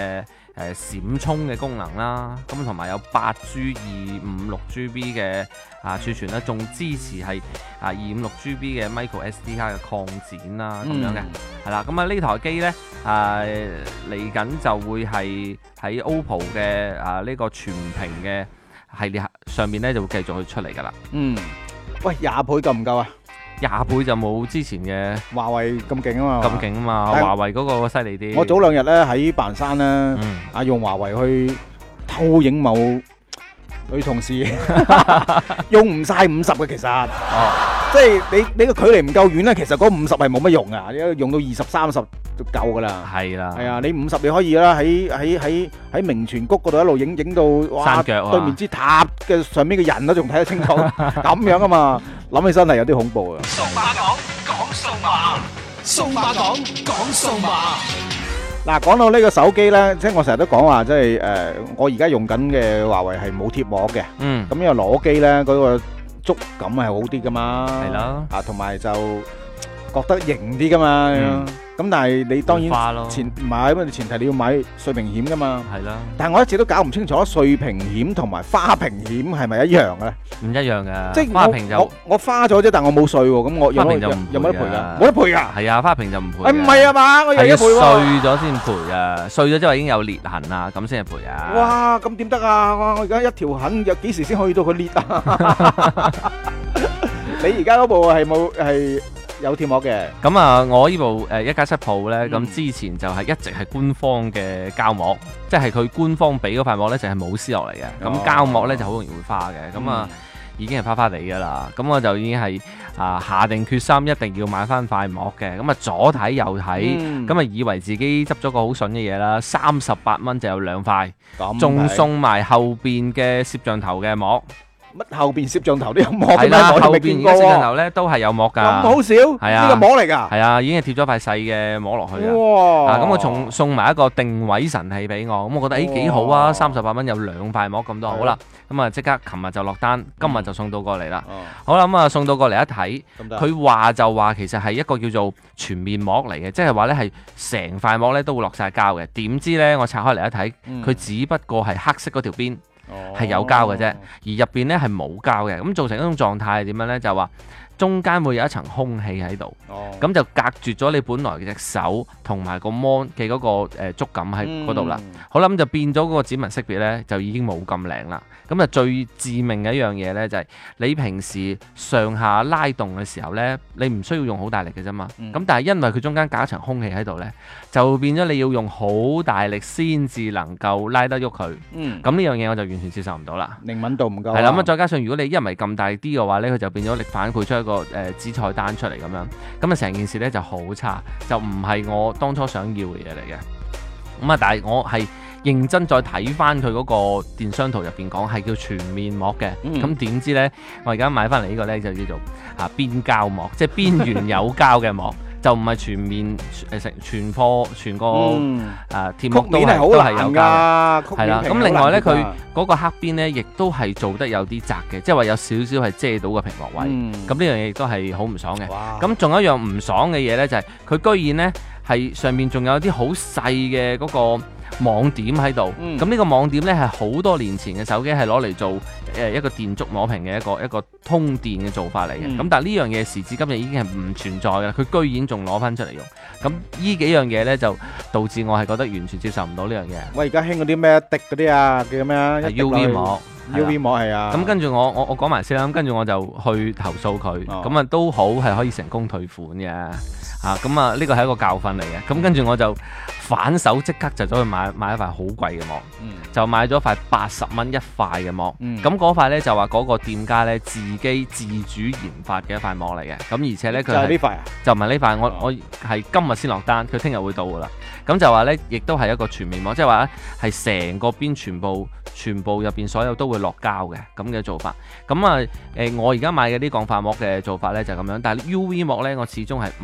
S3: 誒閃充嘅功能啦，咁同埋有八 G 二五六 G B 嘅啊儲存啦，仲支持係啊二五六 G B 嘅 micro S D 卡嘅擴展啦，咁樣嘅係啦。咁啊呢台機咧啊嚟緊就會係喺 O P P O 嘅啊呢個全屏嘅系列上面咧就會繼續去出嚟㗎啦。
S2: 嗯，喂，廿倍夠唔夠啊？
S3: 廿倍就冇之前嘅
S2: 華為咁勁啊嘛，
S3: 咁勁啊嘛，華為嗰個犀利啲。
S2: 我早兩日咧喺白雲山咧，啊用華為去偷影某女同事，用唔晒五十嘅其實，哦，即係你你個距離唔夠遠咧，其實嗰五十係冇乜用啊，用到二十三十就夠噶啦。係啦，係啊，你五十你可以啦，喺喺喺喺明泉谷嗰度一路影影到哇，
S3: 山腳啊，
S2: 對面支塔嘅上面嘅人都仲睇得清楚，咁樣啊嘛，諗起身係有啲恐怖啊。
S7: 數碼講講數碼，數碼講講數碼。
S2: 嗱，講到呢個手機咧，即係我成日都講話，即係誒，我而家用緊嘅華為係冇貼膜嘅，嗯，咁因為攞機咧嗰個觸感係好啲噶嘛，係啦，啊，同埋就覺得型啲噶嘛，咁但係你當然前唔係，因為前提你要買碎屏險噶嘛，係啦，但係我一直都搞唔清楚碎屏險同埋花屏險係咪一樣嘅咧？唔一樣嘅，即係花屏就我我花咗啫，但我冇碎喎，咁我有冇有冇得賠㗎？冇得賠㗎？係啊，花屏就唔賠。誒唔係啊嘛，我又要賠喎。碎咗先賠啊，碎咗之後已經有裂痕啊，咁先係賠啊。哇，咁點得啊？我而家一條痕，有幾時先去到佢裂啊？你而家嗰部係冇係？有貼膜嘅，咁啊，我呢部誒一加七 Pro 咧，咁、嗯、之前就係一直係官方嘅膠膜，即係佢官方俾嗰塊膜咧就係冇撕落嚟嘅，咁、哦、膠膜咧就好容易會花嘅，咁啊、嗯、已經係花花地噶啦，咁我就已經係啊下定決心一定要買翻塊膜嘅，咁啊左睇右睇，咁啊、嗯、以為自己執咗個好筍嘅嘢啦，三十八蚊就有兩塊，仲送埋後邊嘅攝像頭嘅膜。乜後邊攝像頭都有膜嘅咩？後邊嘅攝像頭咧都係有膜噶。咁好少？係啊，呢個膜嚟噶。係啊，已經係貼咗塊細嘅膜落去啊。哇！咁我仲送埋一個定位神器俾我，咁我覺得誒幾好啊！三十八蚊有兩塊膜咁多，好啦，咁啊即刻琴日就落單，今日就送到過嚟啦。好啦，咁啊送到過嚟一睇，佢話就話其實係一個叫做全面膜嚟嘅，即係話咧係成塊膜咧都會落晒膠嘅。點知咧我拆開嚟一睇，佢只不過係黑色嗰條邊。係有膠嘅啫，而入邊咧係冇膠嘅，咁造成一種狀態係點樣咧？就話中間會有一層空氣喺度，咁、oh. 就隔絕咗你本來嘅隻手同埋個 mon 嘅嗰個誒觸感喺嗰度啦。Mm. 好啦，咁就變咗嗰個指紋識別咧，就已經冇咁靚啦。咁啊最致命嘅一樣嘢咧，就係、是、你平時上下拉動嘅時候咧，你唔需要用好大力嘅啫嘛。咁、mm. 但係因為佢中間隔一層空氣喺度咧，就變咗你要用好大力先至能夠拉得喐佢。咁呢、mm. 樣嘢我就完全接受唔到啦。靈敏度唔夠。係啦，咁啊再加上如果你一唔係咁大力啲嘅話咧，佢就變咗力反饋出一個誒紫菜單出嚟咁樣，咁啊成件事咧就好差，就唔係我當初想要嘅嘢嚟嘅。咁啊，但係我係認真再睇翻佢嗰個電商圖入邊講係叫全面膜嘅，咁點、嗯、知咧我而家買翻嚟呢個咧就叫做啊邊膠膜，即係邊緣有膠嘅膜。就唔係全面誒成全貨全個誒貼膜都係都係有膠，係啦。咁另外咧，佢嗰個黑邊咧，亦都係做得有啲窄嘅，即係話有少少係遮到個屏幕位。咁呢樣嘢亦都係好唔爽嘅。咁仲有一樣唔爽嘅嘢咧，就係佢居然咧係上面仲有啲好細嘅嗰個網點喺度。咁呢個網點咧係好多年前嘅手機係攞嚟做誒一個電觸摸屏嘅一個一個通電嘅做法嚟嘅。咁但係呢樣嘢時至今日已經係唔存在嘅，佢居然仲攞翻出嚟用。咁呢幾樣嘢咧就導致我係覺得完全接受唔到呢樣嘢。我而家興嗰啲咩滴嗰啲啊，叫咩啊 ？U V 膜 ，U V 膜係啊。咁跟住我我我講埋先啦，咁跟住我就去投訴佢，咁啊都好係可以成功退款嘅。啊，咁啊呢個係一個教訓嚟嘅。咁跟住我就反手即刻就走去買買一塊好貴嘅膜，嗯、就買咗塊八十蚊一塊嘅膜。咁嗰、嗯、塊咧就話嗰個店家咧自己自主研發嘅一塊膜嚟嘅。咁而且咧佢就係呢塊啊，就唔係呢塊。我我係今日先落單，佢聽日會到噶啦。咁就話咧，亦都係一個全面膜，即係話咧係成個邊全部全部入邊所有都會落膠嘅咁嘅做法。咁啊誒，我而家買嘅啲鋼化膜嘅做法咧就係咁樣，但係 U V 膜咧我始終係唔敢去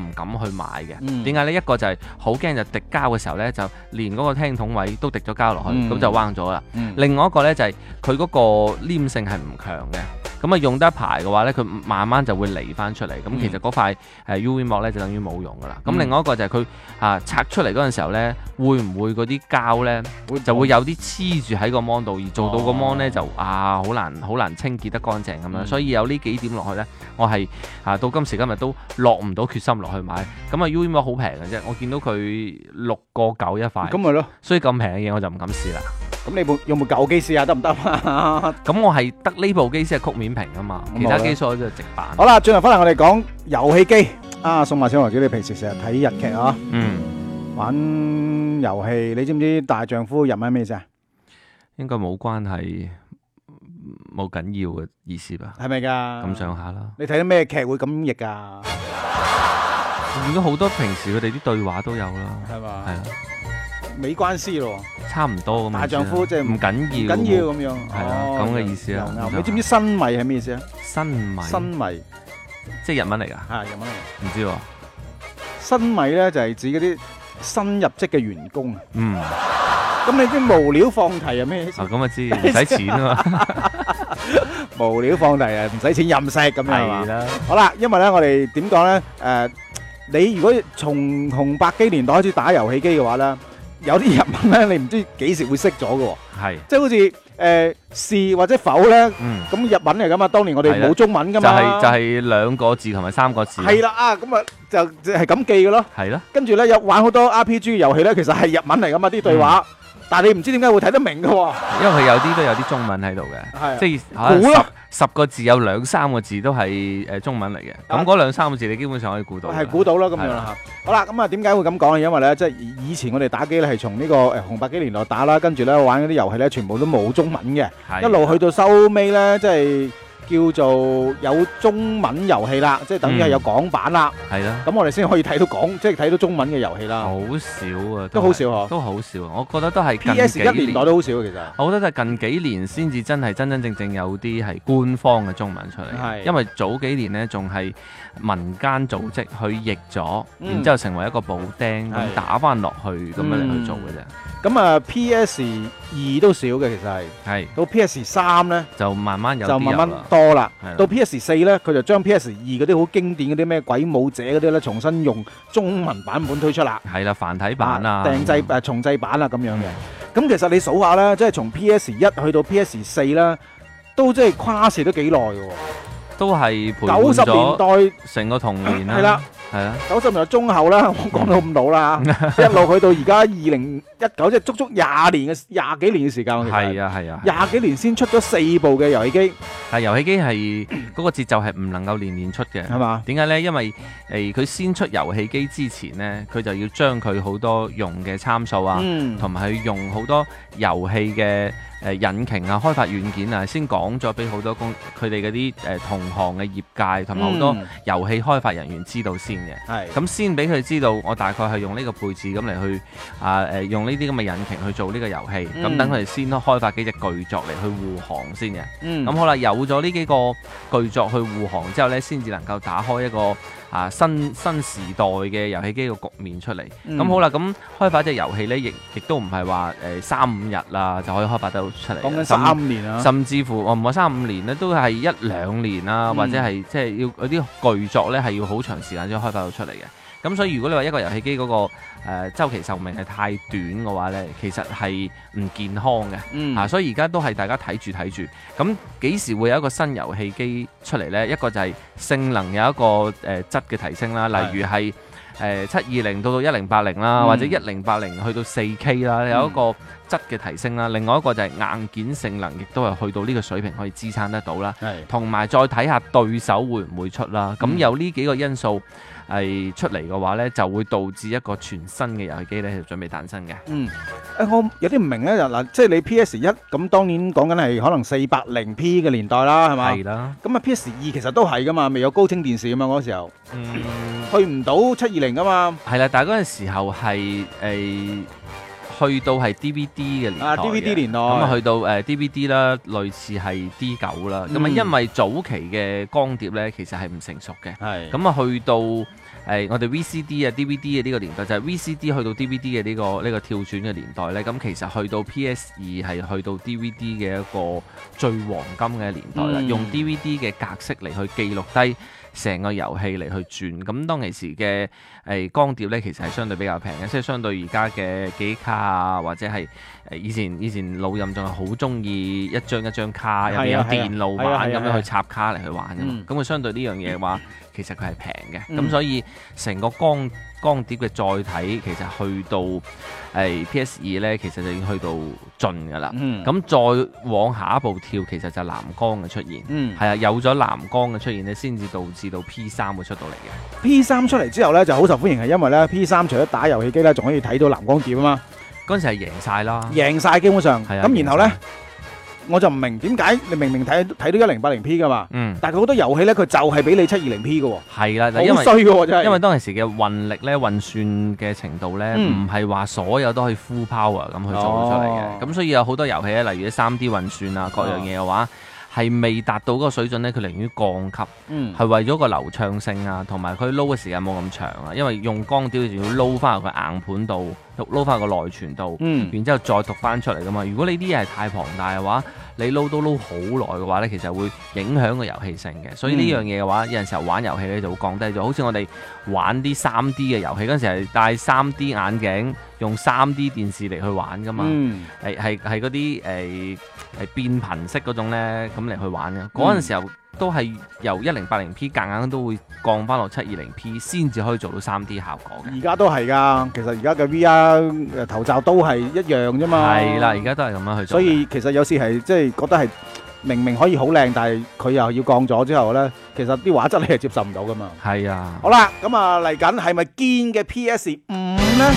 S3: 去買嘅。
S2: 嗯
S3: 點解呢？一個就係好驚就滴膠嘅時候呢，就連嗰個聽筒位都滴咗膠落去，咁、
S2: 嗯
S3: 就彎咗啦。
S2: 嗯
S3: 另外一個呢，就係佢嗰個黏性係唔強嘅。咁啊用得一排嘅話咧，佢慢慢就會離翻出嚟。咁、嗯、其實嗰塊誒 U V 膜咧就等於冇用噶啦。咁、嗯、另外一個就係佢啊拆出嚟嗰陣時候咧，會唔會嗰啲膠咧就會有啲黐住喺個 mon 度，而做到個 mon 咧就啊好難好難清潔得乾淨咁樣。嗯、所以有呢幾點落去咧，我係啊到今時今日都落唔到決心落去買。咁啊 U V 膜好平嘅啫，我見到佢六個九一塊。
S2: 咁咪咯。
S3: 所以咁平嘅嘢我就唔敢試啦。
S2: 咁你部有冇舊機試下得唔得啊？
S3: 咁我係得呢部機先係曲面屏啊嘛，其他機所有都係直板。
S2: 好啦，轉頭翻嚟我哋講遊戲機啊，送埋小王子，你平時成日睇日劇啊？
S3: 嗯，
S2: 玩遊戲，你知唔知大丈夫日文咩意思啊？
S3: 應該冇關係，冇緊要嘅意思吧？
S2: 係咪㗎？
S3: 咁上下啦。
S2: 你睇啲咩劇會咁譯㗎？
S3: 我見到好多平時佢哋啲對話都有啦，
S2: 係嘛？
S3: 係啊。
S2: 美關師咯，
S3: 差唔多咁。
S2: 大丈夫即係
S3: 唔緊要，
S2: 唔緊要咁樣，
S3: 係啊，咁嘅意思啊。
S2: 你知唔知新米係咩意思啊？
S3: 新米，
S2: 新米，
S3: 即係日文嚟㗎。
S2: 係日文嚟。
S3: 唔知喎。
S2: 新米咧就係指嗰啲新入職嘅員工啊。
S3: 嗯。
S2: 咁你啲無料放題係咩意思？
S3: 啊，咁啊知，唔使錢啊嘛。
S2: 無料放題啊，唔使錢任食咁樣係嘛？
S3: 係啦。
S2: 好啦，因為咧我哋點講咧？誒，你如果從紅白機年代開始打遊戲機嘅話咧，有啲日文咧，你唔知幾時會識咗嘅喎。
S3: 係。
S2: 即係好似誒是或者否咧，
S3: 嗯，
S2: 咁日文嚟噶嘛？當年我哋冇中文噶嘛。
S3: 就係就係兩個字同埋三個字。
S2: 係啦啊，咁啊就就係咁記嘅咯。
S3: 係咯。
S2: 跟住咧有玩好多 R P G 遊戲咧，其實係日文嚟噶嘛啲對話，但係你唔知點解會睇得明嘅喎。
S3: 因為佢有啲都有啲中文喺度嘅，
S2: 係
S3: 即係可能十十個字有兩三個字都係誒中文嚟嘅。咁嗰兩三個字你基本上可以估到。
S2: 係估到啦，咁樣啦嚇。好啦，咁啊點解會咁講咧？因為咧即係以前我哋打機咧係從呢個誒紅白機年代打啦，跟住咧玩嗰啲遊戲咧全部都冇中文嘅，一路去到收尾咧即係叫做有中文遊戲啦，即係等於係有港版啦。
S3: 係啦。
S2: 咁我哋先可以睇到港，即係睇到中文嘅遊戲啦。
S3: 好少啊，
S2: 都好少嗬，
S3: 都好少。我覺得都係
S2: P S 一年代都好少其實。
S3: 我覺得都係近幾年先至真係真真正正有啲係官方嘅中文出嚟。
S2: 係。因
S3: 因為早幾年呢仲係民間組織去譯咗，
S2: 嗯、
S3: 然之後成為一個補丁咁打翻落去咁樣嚟去做嘅啫。
S2: 咁啊 P S 二都少嘅其實係，
S3: 係
S2: 到 P S 三咧
S3: 就慢慢有
S2: 就慢慢多啦。
S3: 係
S2: 到 P S 四咧，佢就將 P S 二嗰啲好經典嗰啲咩鬼武者嗰啲咧，重新用中文版本推出啦。
S3: 係啦，繁體版啊，
S2: 訂製誒重製版啊咁樣嘅。咁其實你數下咧，即係從 P S 一去到 P S 四啦，都即係跨時都幾耐嘅喎。
S3: 都係陪伴
S2: 九十年代
S3: 成個童年啦。
S2: 係啦。
S3: 係啊，
S2: 九十年代中後啦，我講到咁老啦，一路去到而家二零一九，即係足足廿年嘅廿幾年嘅時間。
S3: 係啊係啊，
S2: 廿幾年先出咗四部嘅遊戲機。
S3: 但係遊戲機係嗰個節奏係唔能夠年年出嘅，
S2: 係嘛？
S3: 點解呢？因為誒佢先出遊戲機之前呢，佢就要將佢好多用嘅參數啊，同埋佢用好多遊戲嘅誒引擎啊、開發軟件啊，先講咗俾好多公佢哋嗰啲誒同行嘅業界同埋好多遊戲開發人員知道先。係咁先俾佢知道，我大概係用呢個配置咁嚟去啊誒用呢啲咁嘅引擎去做呢個遊戲，咁等佢哋先開發幾隻巨作嚟去護航先嘅。咁、嗯、好啦，有咗呢幾個巨作去護航之後呢，先至能夠打開一個啊新新時代嘅遊戲機嘅局面出嚟。咁、嗯、好啦，咁開發隻遊戲呢，亦亦都唔係話誒三五日啦就可以開發得到出嚟。
S2: 講緊三五年啊，
S3: 甚至乎我唔係三五年呢，都係一兩年啦，嗯、或者係即係要有啲巨作呢，係要好長時間先開發到出嚟嘅。咁所以如果你話一個遊戲機嗰、那個誒、呃、週期壽命係太短嘅話呢，其實係唔健康嘅。嗯，啊，所以而家都係大家睇住睇住。咁幾時會有一個新遊戲機出嚟呢？一個就係性能有一個誒、呃、質嘅提升啦，例如係誒七二零到到一零八零啦，或者一零八零去到四 K 啦，有一個質嘅提升啦。另外一個就係硬件性能，亦都係去到呢個水平可以支撐得到啦。係，同埋再睇下對手會唔會出啦。咁、嗯、有呢幾個因素係出嚟嘅話呢，就會導致一個全新嘅遊戲機呢就準備誕生嘅。嗯，
S2: 誒我有啲唔明呢，嗱，即係你 P S 一咁，當然講緊係可能四百零 P 嘅年代啦，係嘛？係啦。咁啊 P S 二其實都係噶嘛，未有高清電視噶嘛嗰時候。嗯。去唔到七二零噶嘛？係啦，
S3: 但係嗰陣時候係誒、呃、去到係 D V D 嘅年代。啊
S2: ，D V D 年代。
S3: 咁啊去到誒、呃、D V D 啦，類似係 D 九啦。咁啊、嗯、因為早期嘅光碟咧，其實係唔成熟嘅。係。咁啊去到誒誒我哋 V C D 啊 D V D 嘅呢個年代，就係 V C D 去到 D V D 嘅呢個呢個跳轉嘅年代呢。咁其實去到 P S 二係去到 D V D 嘅一個最黃金嘅年代啦，
S2: 嗯
S3: 用 D V D 嘅格式嚟去記錄低成個遊戲嚟去轉。咁當其時嘅誒光碟呢，其實係相對比較平嘅，即係相對而家嘅記憶卡啊，或者係誒以前以前老任仲係好中意一張一張卡入邊有電路板咁樣去插卡嚟去玩嘅嘛。咁佢相對呢樣嘢嘅話，其實佢係平嘅。咁、
S2: 嗯
S3: 所以成個光光碟嘅載體其實去到誒、呃、P S 二呢，其實就已經去到盡㗎啦。咁、
S2: 嗯
S3: 再往下一步跳，其實就係藍光嘅出現。
S2: 嗯
S3: 係啊，有咗藍光嘅出現呢，先至導致到 P 三會出到嚟嘅。
S2: P 三出嚟之後咧就好受歡迎，係因為咧 P 三除咗打遊戲機咧，仲可以睇到藍光碟啊嘛，
S3: 嗰陣時係贏晒啦。
S2: 贏晒基本上。
S3: 係啊
S2: 咁然後咧
S3: 贏晒，
S2: 我就唔明點解你明明睇睇到一零八零 P 噶嘛，
S3: 嗯，
S2: 但係佢好多遊戲咧，佢就係俾你七二零 P 嘅喎，
S3: 係啦，就因為
S2: 好衰嘅喎真係。
S3: 因為當其時嘅運力咧、運算嘅程度咧，
S2: 嗯
S3: 唔係話所有都可以 full power 咁去做到出嚟嘅。咁、
S2: 哦
S3: 所以有好多遊戲咧，例如啲三 D 運算啊，各樣嘢嘅話，係未達到嗰個水準咧，佢寧願降級，
S2: 嗯
S3: 係為咗個流暢性啊，同埋佢撈嘅時間冇咁長啊。因為用光碟仲要撈翻入個硬盤度，撈翻個內存度，
S2: 嗯
S3: 然之後再讀翻出嚟噶嘛。如果你啲嘢係太龐大嘅話，你撈都撈好耐嘅話咧，其實會影響個遊戲性嘅。所以呢樣嘢嘅話，有陣時候玩遊戲咧就會降低咗。好似我哋玩啲三 D 嘅遊戲嗰陣時係戴三 D 眼鏡，用三 D 電視嚟去玩噶嘛。
S2: 嗯
S3: 係係係嗰啲誒誒變頻式嗰種咧，咁嚟去玩嘅。嗰陣時候都係由一零八零 P 夾硬都會降翻落七二零 P 先至可以做到三 D 效果嘅。
S2: 而家都係㗎，其實而家嘅 V R 誒頭罩都係一樣啫嘛。
S3: 係啦，而家都係咁樣去做嘅。
S2: 所以其實有時係即係覺得係明明可以好靚，但係佢又要降咗之後咧，其實啲畫質你係接受唔到㗎嘛。
S3: 係啊。
S2: 好啦，咁啊嚟緊係咪堅嘅 P S 五咧？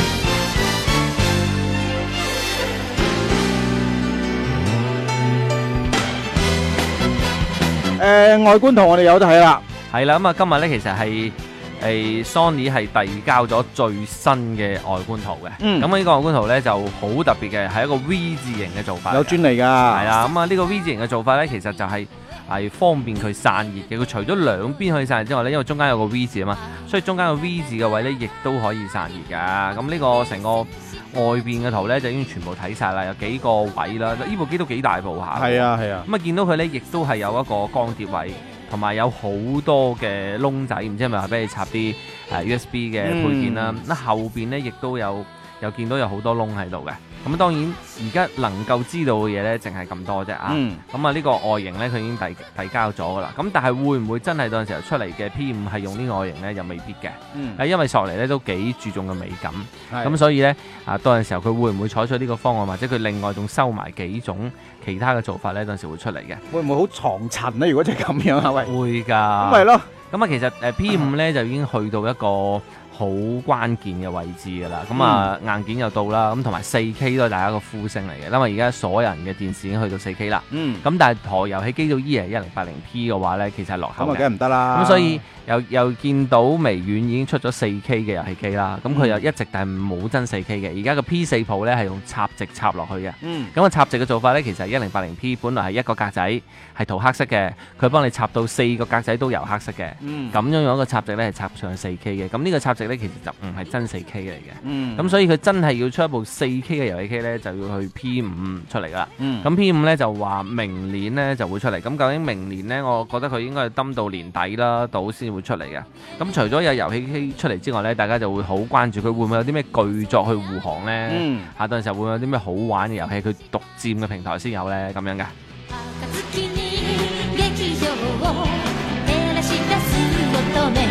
S2: 誒、外觀圖我哋有得睇啦。
S3: 係啦，咁啊今日咧其實係誒 Sony 係遞交咗最新嘅外觀圖嘅。
S2: 嗯
S3: 咁呢個外觀圖咧就好特別嘅，係一個 V 字形嘅做法嚟嘅。
S2: 有專利㗎。
S3: 係啦，咁啊呢個 V 字形嘅做法咧，其實就係係方便佢散熱嘅。佢除咗兩邊可以散熱之外咧，因為中間有個 V 字啊嘛，所以中間個 V 字嘅位咧，亦都可以散熱㗎。咁呢個成個外邊嘅圖咧，就已經全部睇晒啦，有幾個位啦。呢部機都幾大部下。
S2: 係啊係啊。
S3: 咁啊見到佢咧，亦都係有一個光碟位，同埋有好多嘅窿仔，唔知係咪話俾你插啲誒 U S B 嘅配件啦。咁、後邊咧亦都有有見到有好多窿喺度嘅。咁當然而家能夠知道嘅嘢咧，淨係咁多啫啊。
S2: 嗯
S3: 咁啊呢個外形咧，佢已經遞遞交咗噶啦。咁但係會唔會真係到陣時候出嚟嘅 P 五係用呢個外形咧？又未必嘅。
S2: 嗯
S3: 誒因為索尼咧都幾注重嘅美感。
S2: 係
S3: 咁所以咧啊，到陣時候佢會唔會採取呢個方案，或者佢另外仲收埋幾種其他嘅做法咧？到陣時會出嚟嘅。
S2: 會唔會好藏塵咧？如果真係咁樣啊？喂，
S3: 會㗎。
S2: 咁咪咯。
S3: 咁啊，其實誒 P 五咧就已經去到一個好關鍵嘅位置㗎啦。咁啊、硬件又到啦，咁同埋四 K 都係大家個呼聲嚟嘅。因為而家所有人嘅電視已經去到四 K 啦。
S2: 嗯。
S3: 咁但係台遊戲機到依係一零八零 P 嘅話咧，其實係落後
S2: 咁啊，
S3: 嘅。
S2: 梗係唔得啦。
S3: 咁所以又又見到微軟已經出咗四 K 嘅遊戲機啦。咁佢又一直但係冇真四 K 嘅。而家個 P 四 Pro 咧係用插直插落去嘅。
S2: 嗯。
S3: 咁個插直嘅做法咧，其實一零八零 P 本來係一個格仔係塗黑色嘅，佢幫你插到四個格仔都油黑色嘅。
S2: 嗯。
S3: 咁樣樣一個插直咧係插上四 K 嘅。咁呢個插直咧其實就唔係真四 K 嚟嘅。
S2: 嗯。
S3: 咁所以佢真係要出一部四 K 嘅遊戲機咧，就要去 P 五出嚟啦。
S2: 嗯。
S3: 咁 P 五咧就話明年咧就會出嚟。咁究竟明年咧，我覺得佢應該係蹲到年底啦，到先會出嚟嘅。咁除咗有遊戲機出嚟之外咧，大家就會好關注佢會唔會有啲咩巨作去護航咧？
S2: 嗯。
S3: 下段時候會唔會有啲咩好玩嘅遊戲，佢獨佔嘅平台先有咧？咁樣嘅。
S5: 暁に劇場を照らし出す乙女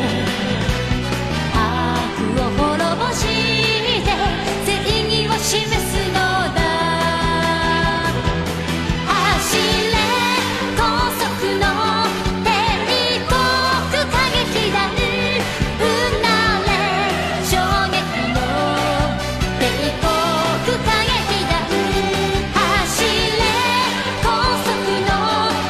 S5: 悪を滅ぼして正義を示すのだ走れ高速の帝国歌劇団うなれ衝撃の帝国歌劇団走れ高速の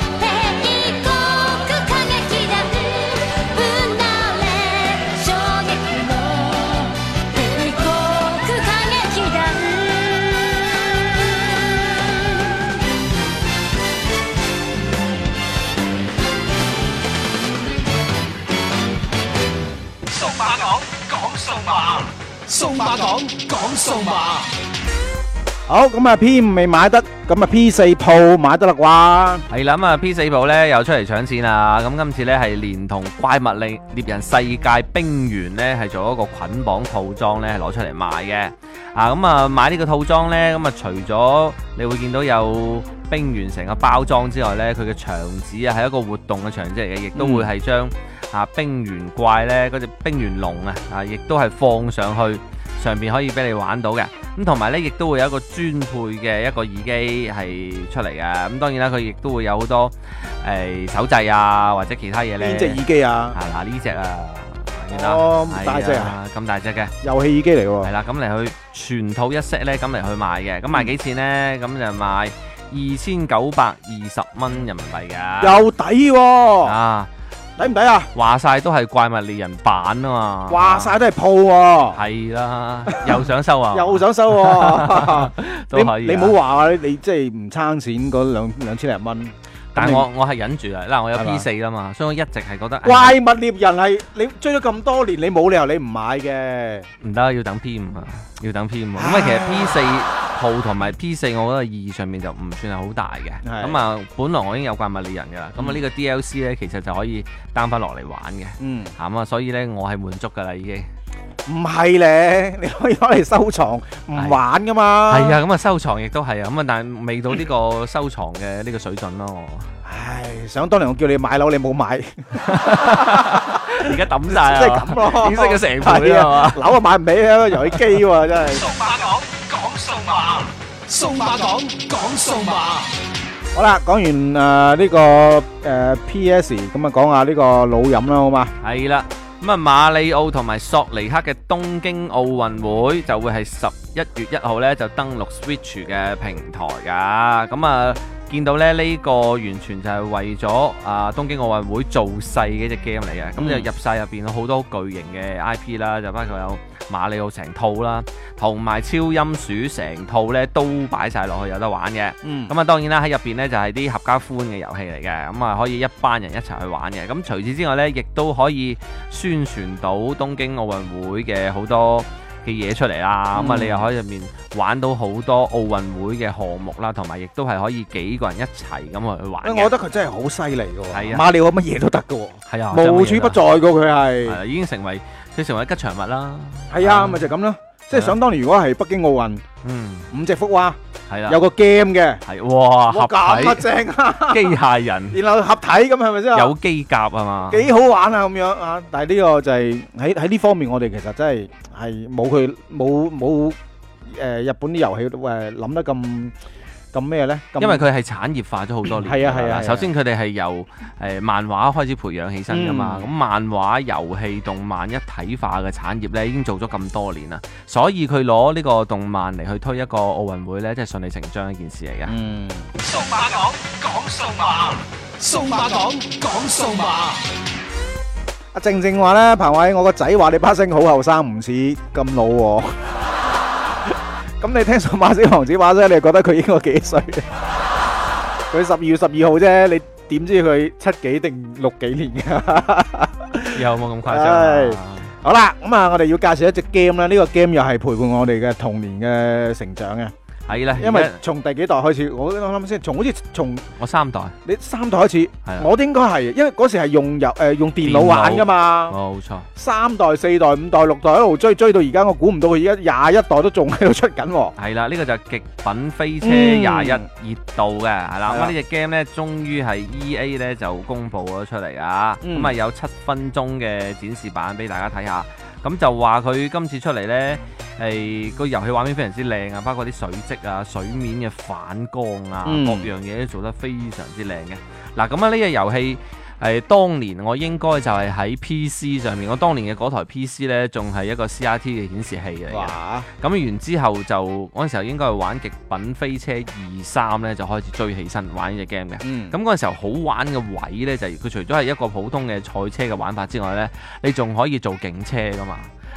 S7: 講講數碼，
S2: 好咁啊 P 五未買得，咁啊 P 四 Pro 買得啦啩？
S3: 係啦，咁啊 P 四 Pro 咧又出嚟搶錢啦！咁今次咧係連同怪物獵獵人世界冰原咧係做一個捆綁套裝咧係攞出嚟賣嘅。啊咁啊買呢個套裝咧，咁啊除咗你會見到有冰原成個包裝之外咧，佢嘅牆紙啊係一個活動嘅牆紙嚟嘅，亦都會係將啊冰原怪咧嗰隻冰原龍啊啊，亦都係放上去。上邊可以俾你玩到嘅，咁同埋呢亦都會有一個專配嘅一個耳機係出嚟嘅，咁當然啦，佢亦都會有好多誒、呃、手掣啊或者其他嘢呢。
S2: 邊隻耳機啊？
S3: 啊嗱呢隻啊，見到
S2: 哦咁大隻啊，
S3: 咁大隻嘅
S2: 遊戲耳機嚟喎。
S3: 係啦，咁嚟去全套一 set 呢，咁嚟去賣嘅，咁賣幾錢呢？咁就賣二千九百二十蚊人民幣㗎。
S2: 又抵喎！
S3: 啊！
S2: 抵唔抵啊？
S3: 話晒都係怪物獵人版啊嘛，
S2: 話晒都係鋪喎。
S3: 係啦，又想收啊，
S2: 又想收喎，
S3: 都可以。
S2: 你唔好話你即係唔撐錢嗰兩兩千零蚊。
S3: 但係我我係忍住啦，嗱我有 P 四啦嘛，所以我一直係覺得
S2: 怪物獵人係你追咗咁多年，你冇理由你唔買嘅。
S3: 唔得，要等 P 五啊，要等 P 五。咁啊，其實 P 四 Pro 同埋 P 四，我覺得意義上面就唔算係好大嘅。咁啊，本來我已經有怪物獵人噶啦，咁啊呢個 D L C 咧，其實就可以 down 翻落嚟玩嘅。嗯，咁啊，所以咧我係滿足噶啦已經。
S2: 唔係咧，你可以攞嚟收藏，唔玩噶嘛。
S3: 係啊，咁啊收藏亦都係啊，咁啊但係未到呢個收藏嘅呢個水準咯。
S2: 唉，想當年我叫你買樓，你冇買，
S3: 而家抌晒啊！
S2: 即係咁咯，
S3: 點識咗成倍啊嘛？
S2: 樓啊買唔起啊，遊戲機喎真係。
S7: 數碼講講數碼，數碼講講數碼。
S2: 好啦，講完誒呢個誒 P S，咁啊講下呢個老飲啦，好嘛？
S3: 係啦。咁啊，馬里奧同埋索尼克嘅東京奧運會就會係十一月一號咧就登陸 Switch 嘅平台噶。咁啊，見到咧呢個完全就係為咗啊東京奧運會做勢嘅一隻 game 嚟嘅。咁、嗯、就入晒入邊好多巨型嘅 I P 啦，就包括有馬里奧成套啦，同埋超音鼠成套咧都擺晒落去有得玩嘅。嗯。咁啊，當然啦喺入邊咧就係啲合家歡嘅遊戲嚟嘅，咁啊可以一班人一齊去玩嘅。咁除此之外咧，亦都可以宣傳到東京奧運會嘅好多嘅嘢出嚟啦。咁啊、嗯，你又可以入面玩到好多奧運會嘅項目啦，同埋亦都係可以幾個人一齊咁去玩嘅。
S2: 我覺得佢真係好犀利嘅喎。
S3: 係啊，
S2: 馬里奧乜嘢都得嘅喎。係啊，無處不在嘅佢係。
S3: 係已經成為佢成為吉祥物啦。
S2: 係啊，咪就咁咯。即係想當年，如果係北京奧運，嗯，五隻福娃，係啦，有個 game 嘅，係哇，合體咁正啊，機械人，然後合體咁係咪先？有機甲啊嘛，幾好玩啊咁樣啊！但係呢個就係喺喺呢方面，我哋其實真係係冇佢冇冇誒日本啲遊戲誒諗得咁。咁咩咧？因為佢係產業化咗好多年。係啊係啊。首先佢哋係由誒漫畫開始培養起身噶嘛。咁、嗯、漫畫、遊戲、動漫一體化嘅產業咧，已經做咗咁多年啦。所以佢攞呢個動漫嚟去推一個奧運會咧，即係順理成章一件事嚟嘅。嗯。
S7: 數碼講講數碼，數碼講講數碼。
S2: 阿靜靜話咧，彭偉，我個仔話你把聲好後生，唔似咁老喎。咁你聽數碼小王子把聲，你覺得佢應該幾歲？佢十二月十二號啫，你點知佢七幾定六幾年㗎？
S3: 有冇咁誇張啊？
S2: 好啦，咁啊，我哋要介紹一隻 game 啦。呢個 game 又係陪伴我哋嘅童年嘅成長嘅。係啦，因為從第幾代開始，我諗諗先，從好似從
S3: 我三代，
S2: 你三代開始，我應該係，因為嗰時係用遊誒用電腦玩噶嘛，冇錯。三代、四代、五代、六代一路追追到而家，我估唔到佢而家廿一代都仲喺度出緊。
S3: 係啦，呢個就係極品飛車廿一熱度嘅，係啦。咁呢隻 game 咧，終於係 E A 咧就公佈咗出嚟啊！咁啊有七分鐘嘅展示版俾大家睇下。咁就話佢今次出嚟呢，係個遊戲畫面非常之靚啊，包括啲水跡啊、水面嘅反光啊，嗯、各樣嘢都做得非常之靚嘅。嗱，咁啊呢隻遊戲係當年我應該就係喺 P C 上面，我當年嘅嗰台 P C 呢，仲係一個 C R T 嘅顯示器嚟嘅。咁完之後就嗰陣時候應該係玩極品飛車二三呢，就開始追起身玩呢隻 game 嘅。咁嗰陣時候好玩嘅位呢，就係佢除咗係一個普通嘅賽車嘅玩法之外呢，你仲可以做警車噶嘛。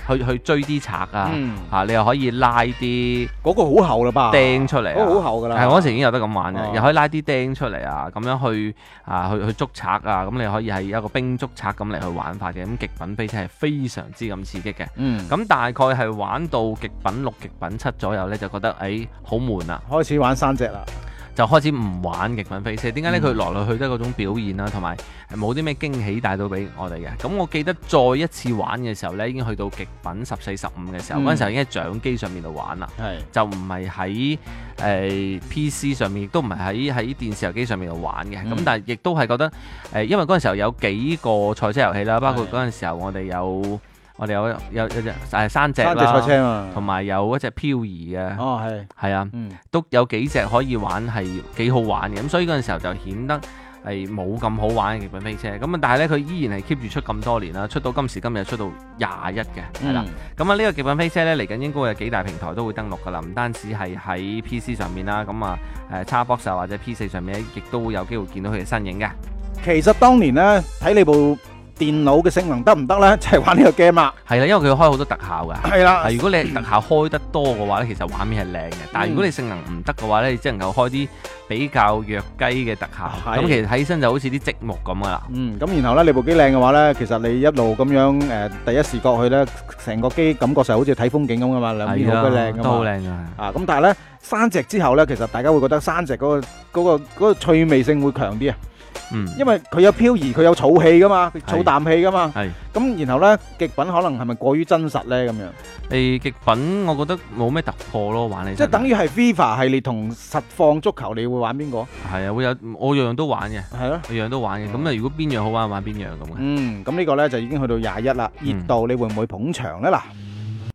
S3: 去去追啲賊啊，
S2: 嗯
S3: 嚇你又可以拉啲
S2: 嗰個好厚啦吧？
S3: 釘出嚟啊，
S2: 嗰個好厚㗎啦。
S3: 係嗰陣時已經有得咁玩嘅，
S2: 哦
S3: 又可以拉啲釘出嚟啊，咁樣去啊去去捉賊啊，咁你可以係一個兵捉賊咁嚟去玩法嘅，咁極品飛車係非常之咁刺激嘅。
S2: 嗯，
S3: 咁大概係玩到極品六、極品七左右呢，就覺得誒好悶啦，
S2: 開始玩山隻啦。
S3: 就開始唔玩極品飛車。點解呢？
S2: 嗯
S3: 佢來來去都係嗰種表現啦，同埋冇啲咩驚喜帶到俾我哋嘅。咁我記得再一次玩嘅時候呢，已經去到極品十四、十五嘅時候，嗰陣、
S2: 嗯
S3: 時候已經喺掌機上面度玩啦。
S2: 係。
S3: 就唔係喺誒 P C 上面，亦都唔係喺喺電視遊機上面度玩嘅。咁、
S2: 嗯
S3: 但係亦都係覺得誒、呃，因為嗰陣時候有幾個賽車遊戲啦，包括嗰陣時候我哋有我哋有有有隻誒山隻
S2: 山隻賽
S3: 啦，
S2: 車嘛。
S3: 同埋有一隻漂移嘅，
S2: 哦，係。
S3: 係啊，
S2: 嗯。
S3: 都有幾隻可以玩係幾好玩嘅。咁所以嗰陣時候就顯得係冇咁好玩嘅極品飛車。咁啊，但係咧佢依然係 keep 住出咁多年啦，出到今時今日出到廿一嘅，係啦。咁啊呢個極品飛車咧嚟緊應該有幾大平台都會登陸㗎啦，唔單止係喺 P C 上面啦，咁啊誒 Xbox 或者 P 四上面咧，亦都會有機會見到佢嘅身影嘅。
S2: 其實當年咧睇你部電腦嘅性能得唔得咧，就係玩呢個 game 啦。
S3: 係啦，因為佢開好多特效㗎。
S2: 係啦。
S3: 如果你特效開得多嘅話咧，其實畫面係靚嘅。但係如果你性能唔得嘅話咧，你只能夠開啲比較弱雞嘅特效。
S2: 係
S3: 咁其實睇起身就好似啲積木咁噶啦。
S2: 嗯，咁然後咧，你部機靚嘅話咧，其實你一路咁樣誒、呃、第一視覺去咧，成個機感覺上好似睇風景咁噶嘛，兩邊好鬼靚噶嘛。
S3: 都好靚㗎。
S2: 啊，咁但係咧山隻之後咧，其實大家會覺得山隻嗰、嗰個嗰、嗰個嗰個趣味性會強啲啊。
S3: 嗯，
S2: 因為佢有漂移，佢有儲氣噶嘛，佢儲啖氣噶嘛。
S3: 係。
S2: 咁然後咧，極品可能係咪過於真實咧？咁樣。
S3: 誒極品我覺得冇咩突破咯，玩起身。
S2: 即係等於係 FIFA 系列同實況足球，你會玩邊個？
S3: 係啊，會有我樣樣都玩嘅。
S2: 係咯，
S3: 樣樣都玩嘅。咁啊，如果邊樣好玩玩邊樣咁嘅。
S2: 嗯，咁呢個咧就已經去到廿一啦，熱度你會唔會捧場咧嗱？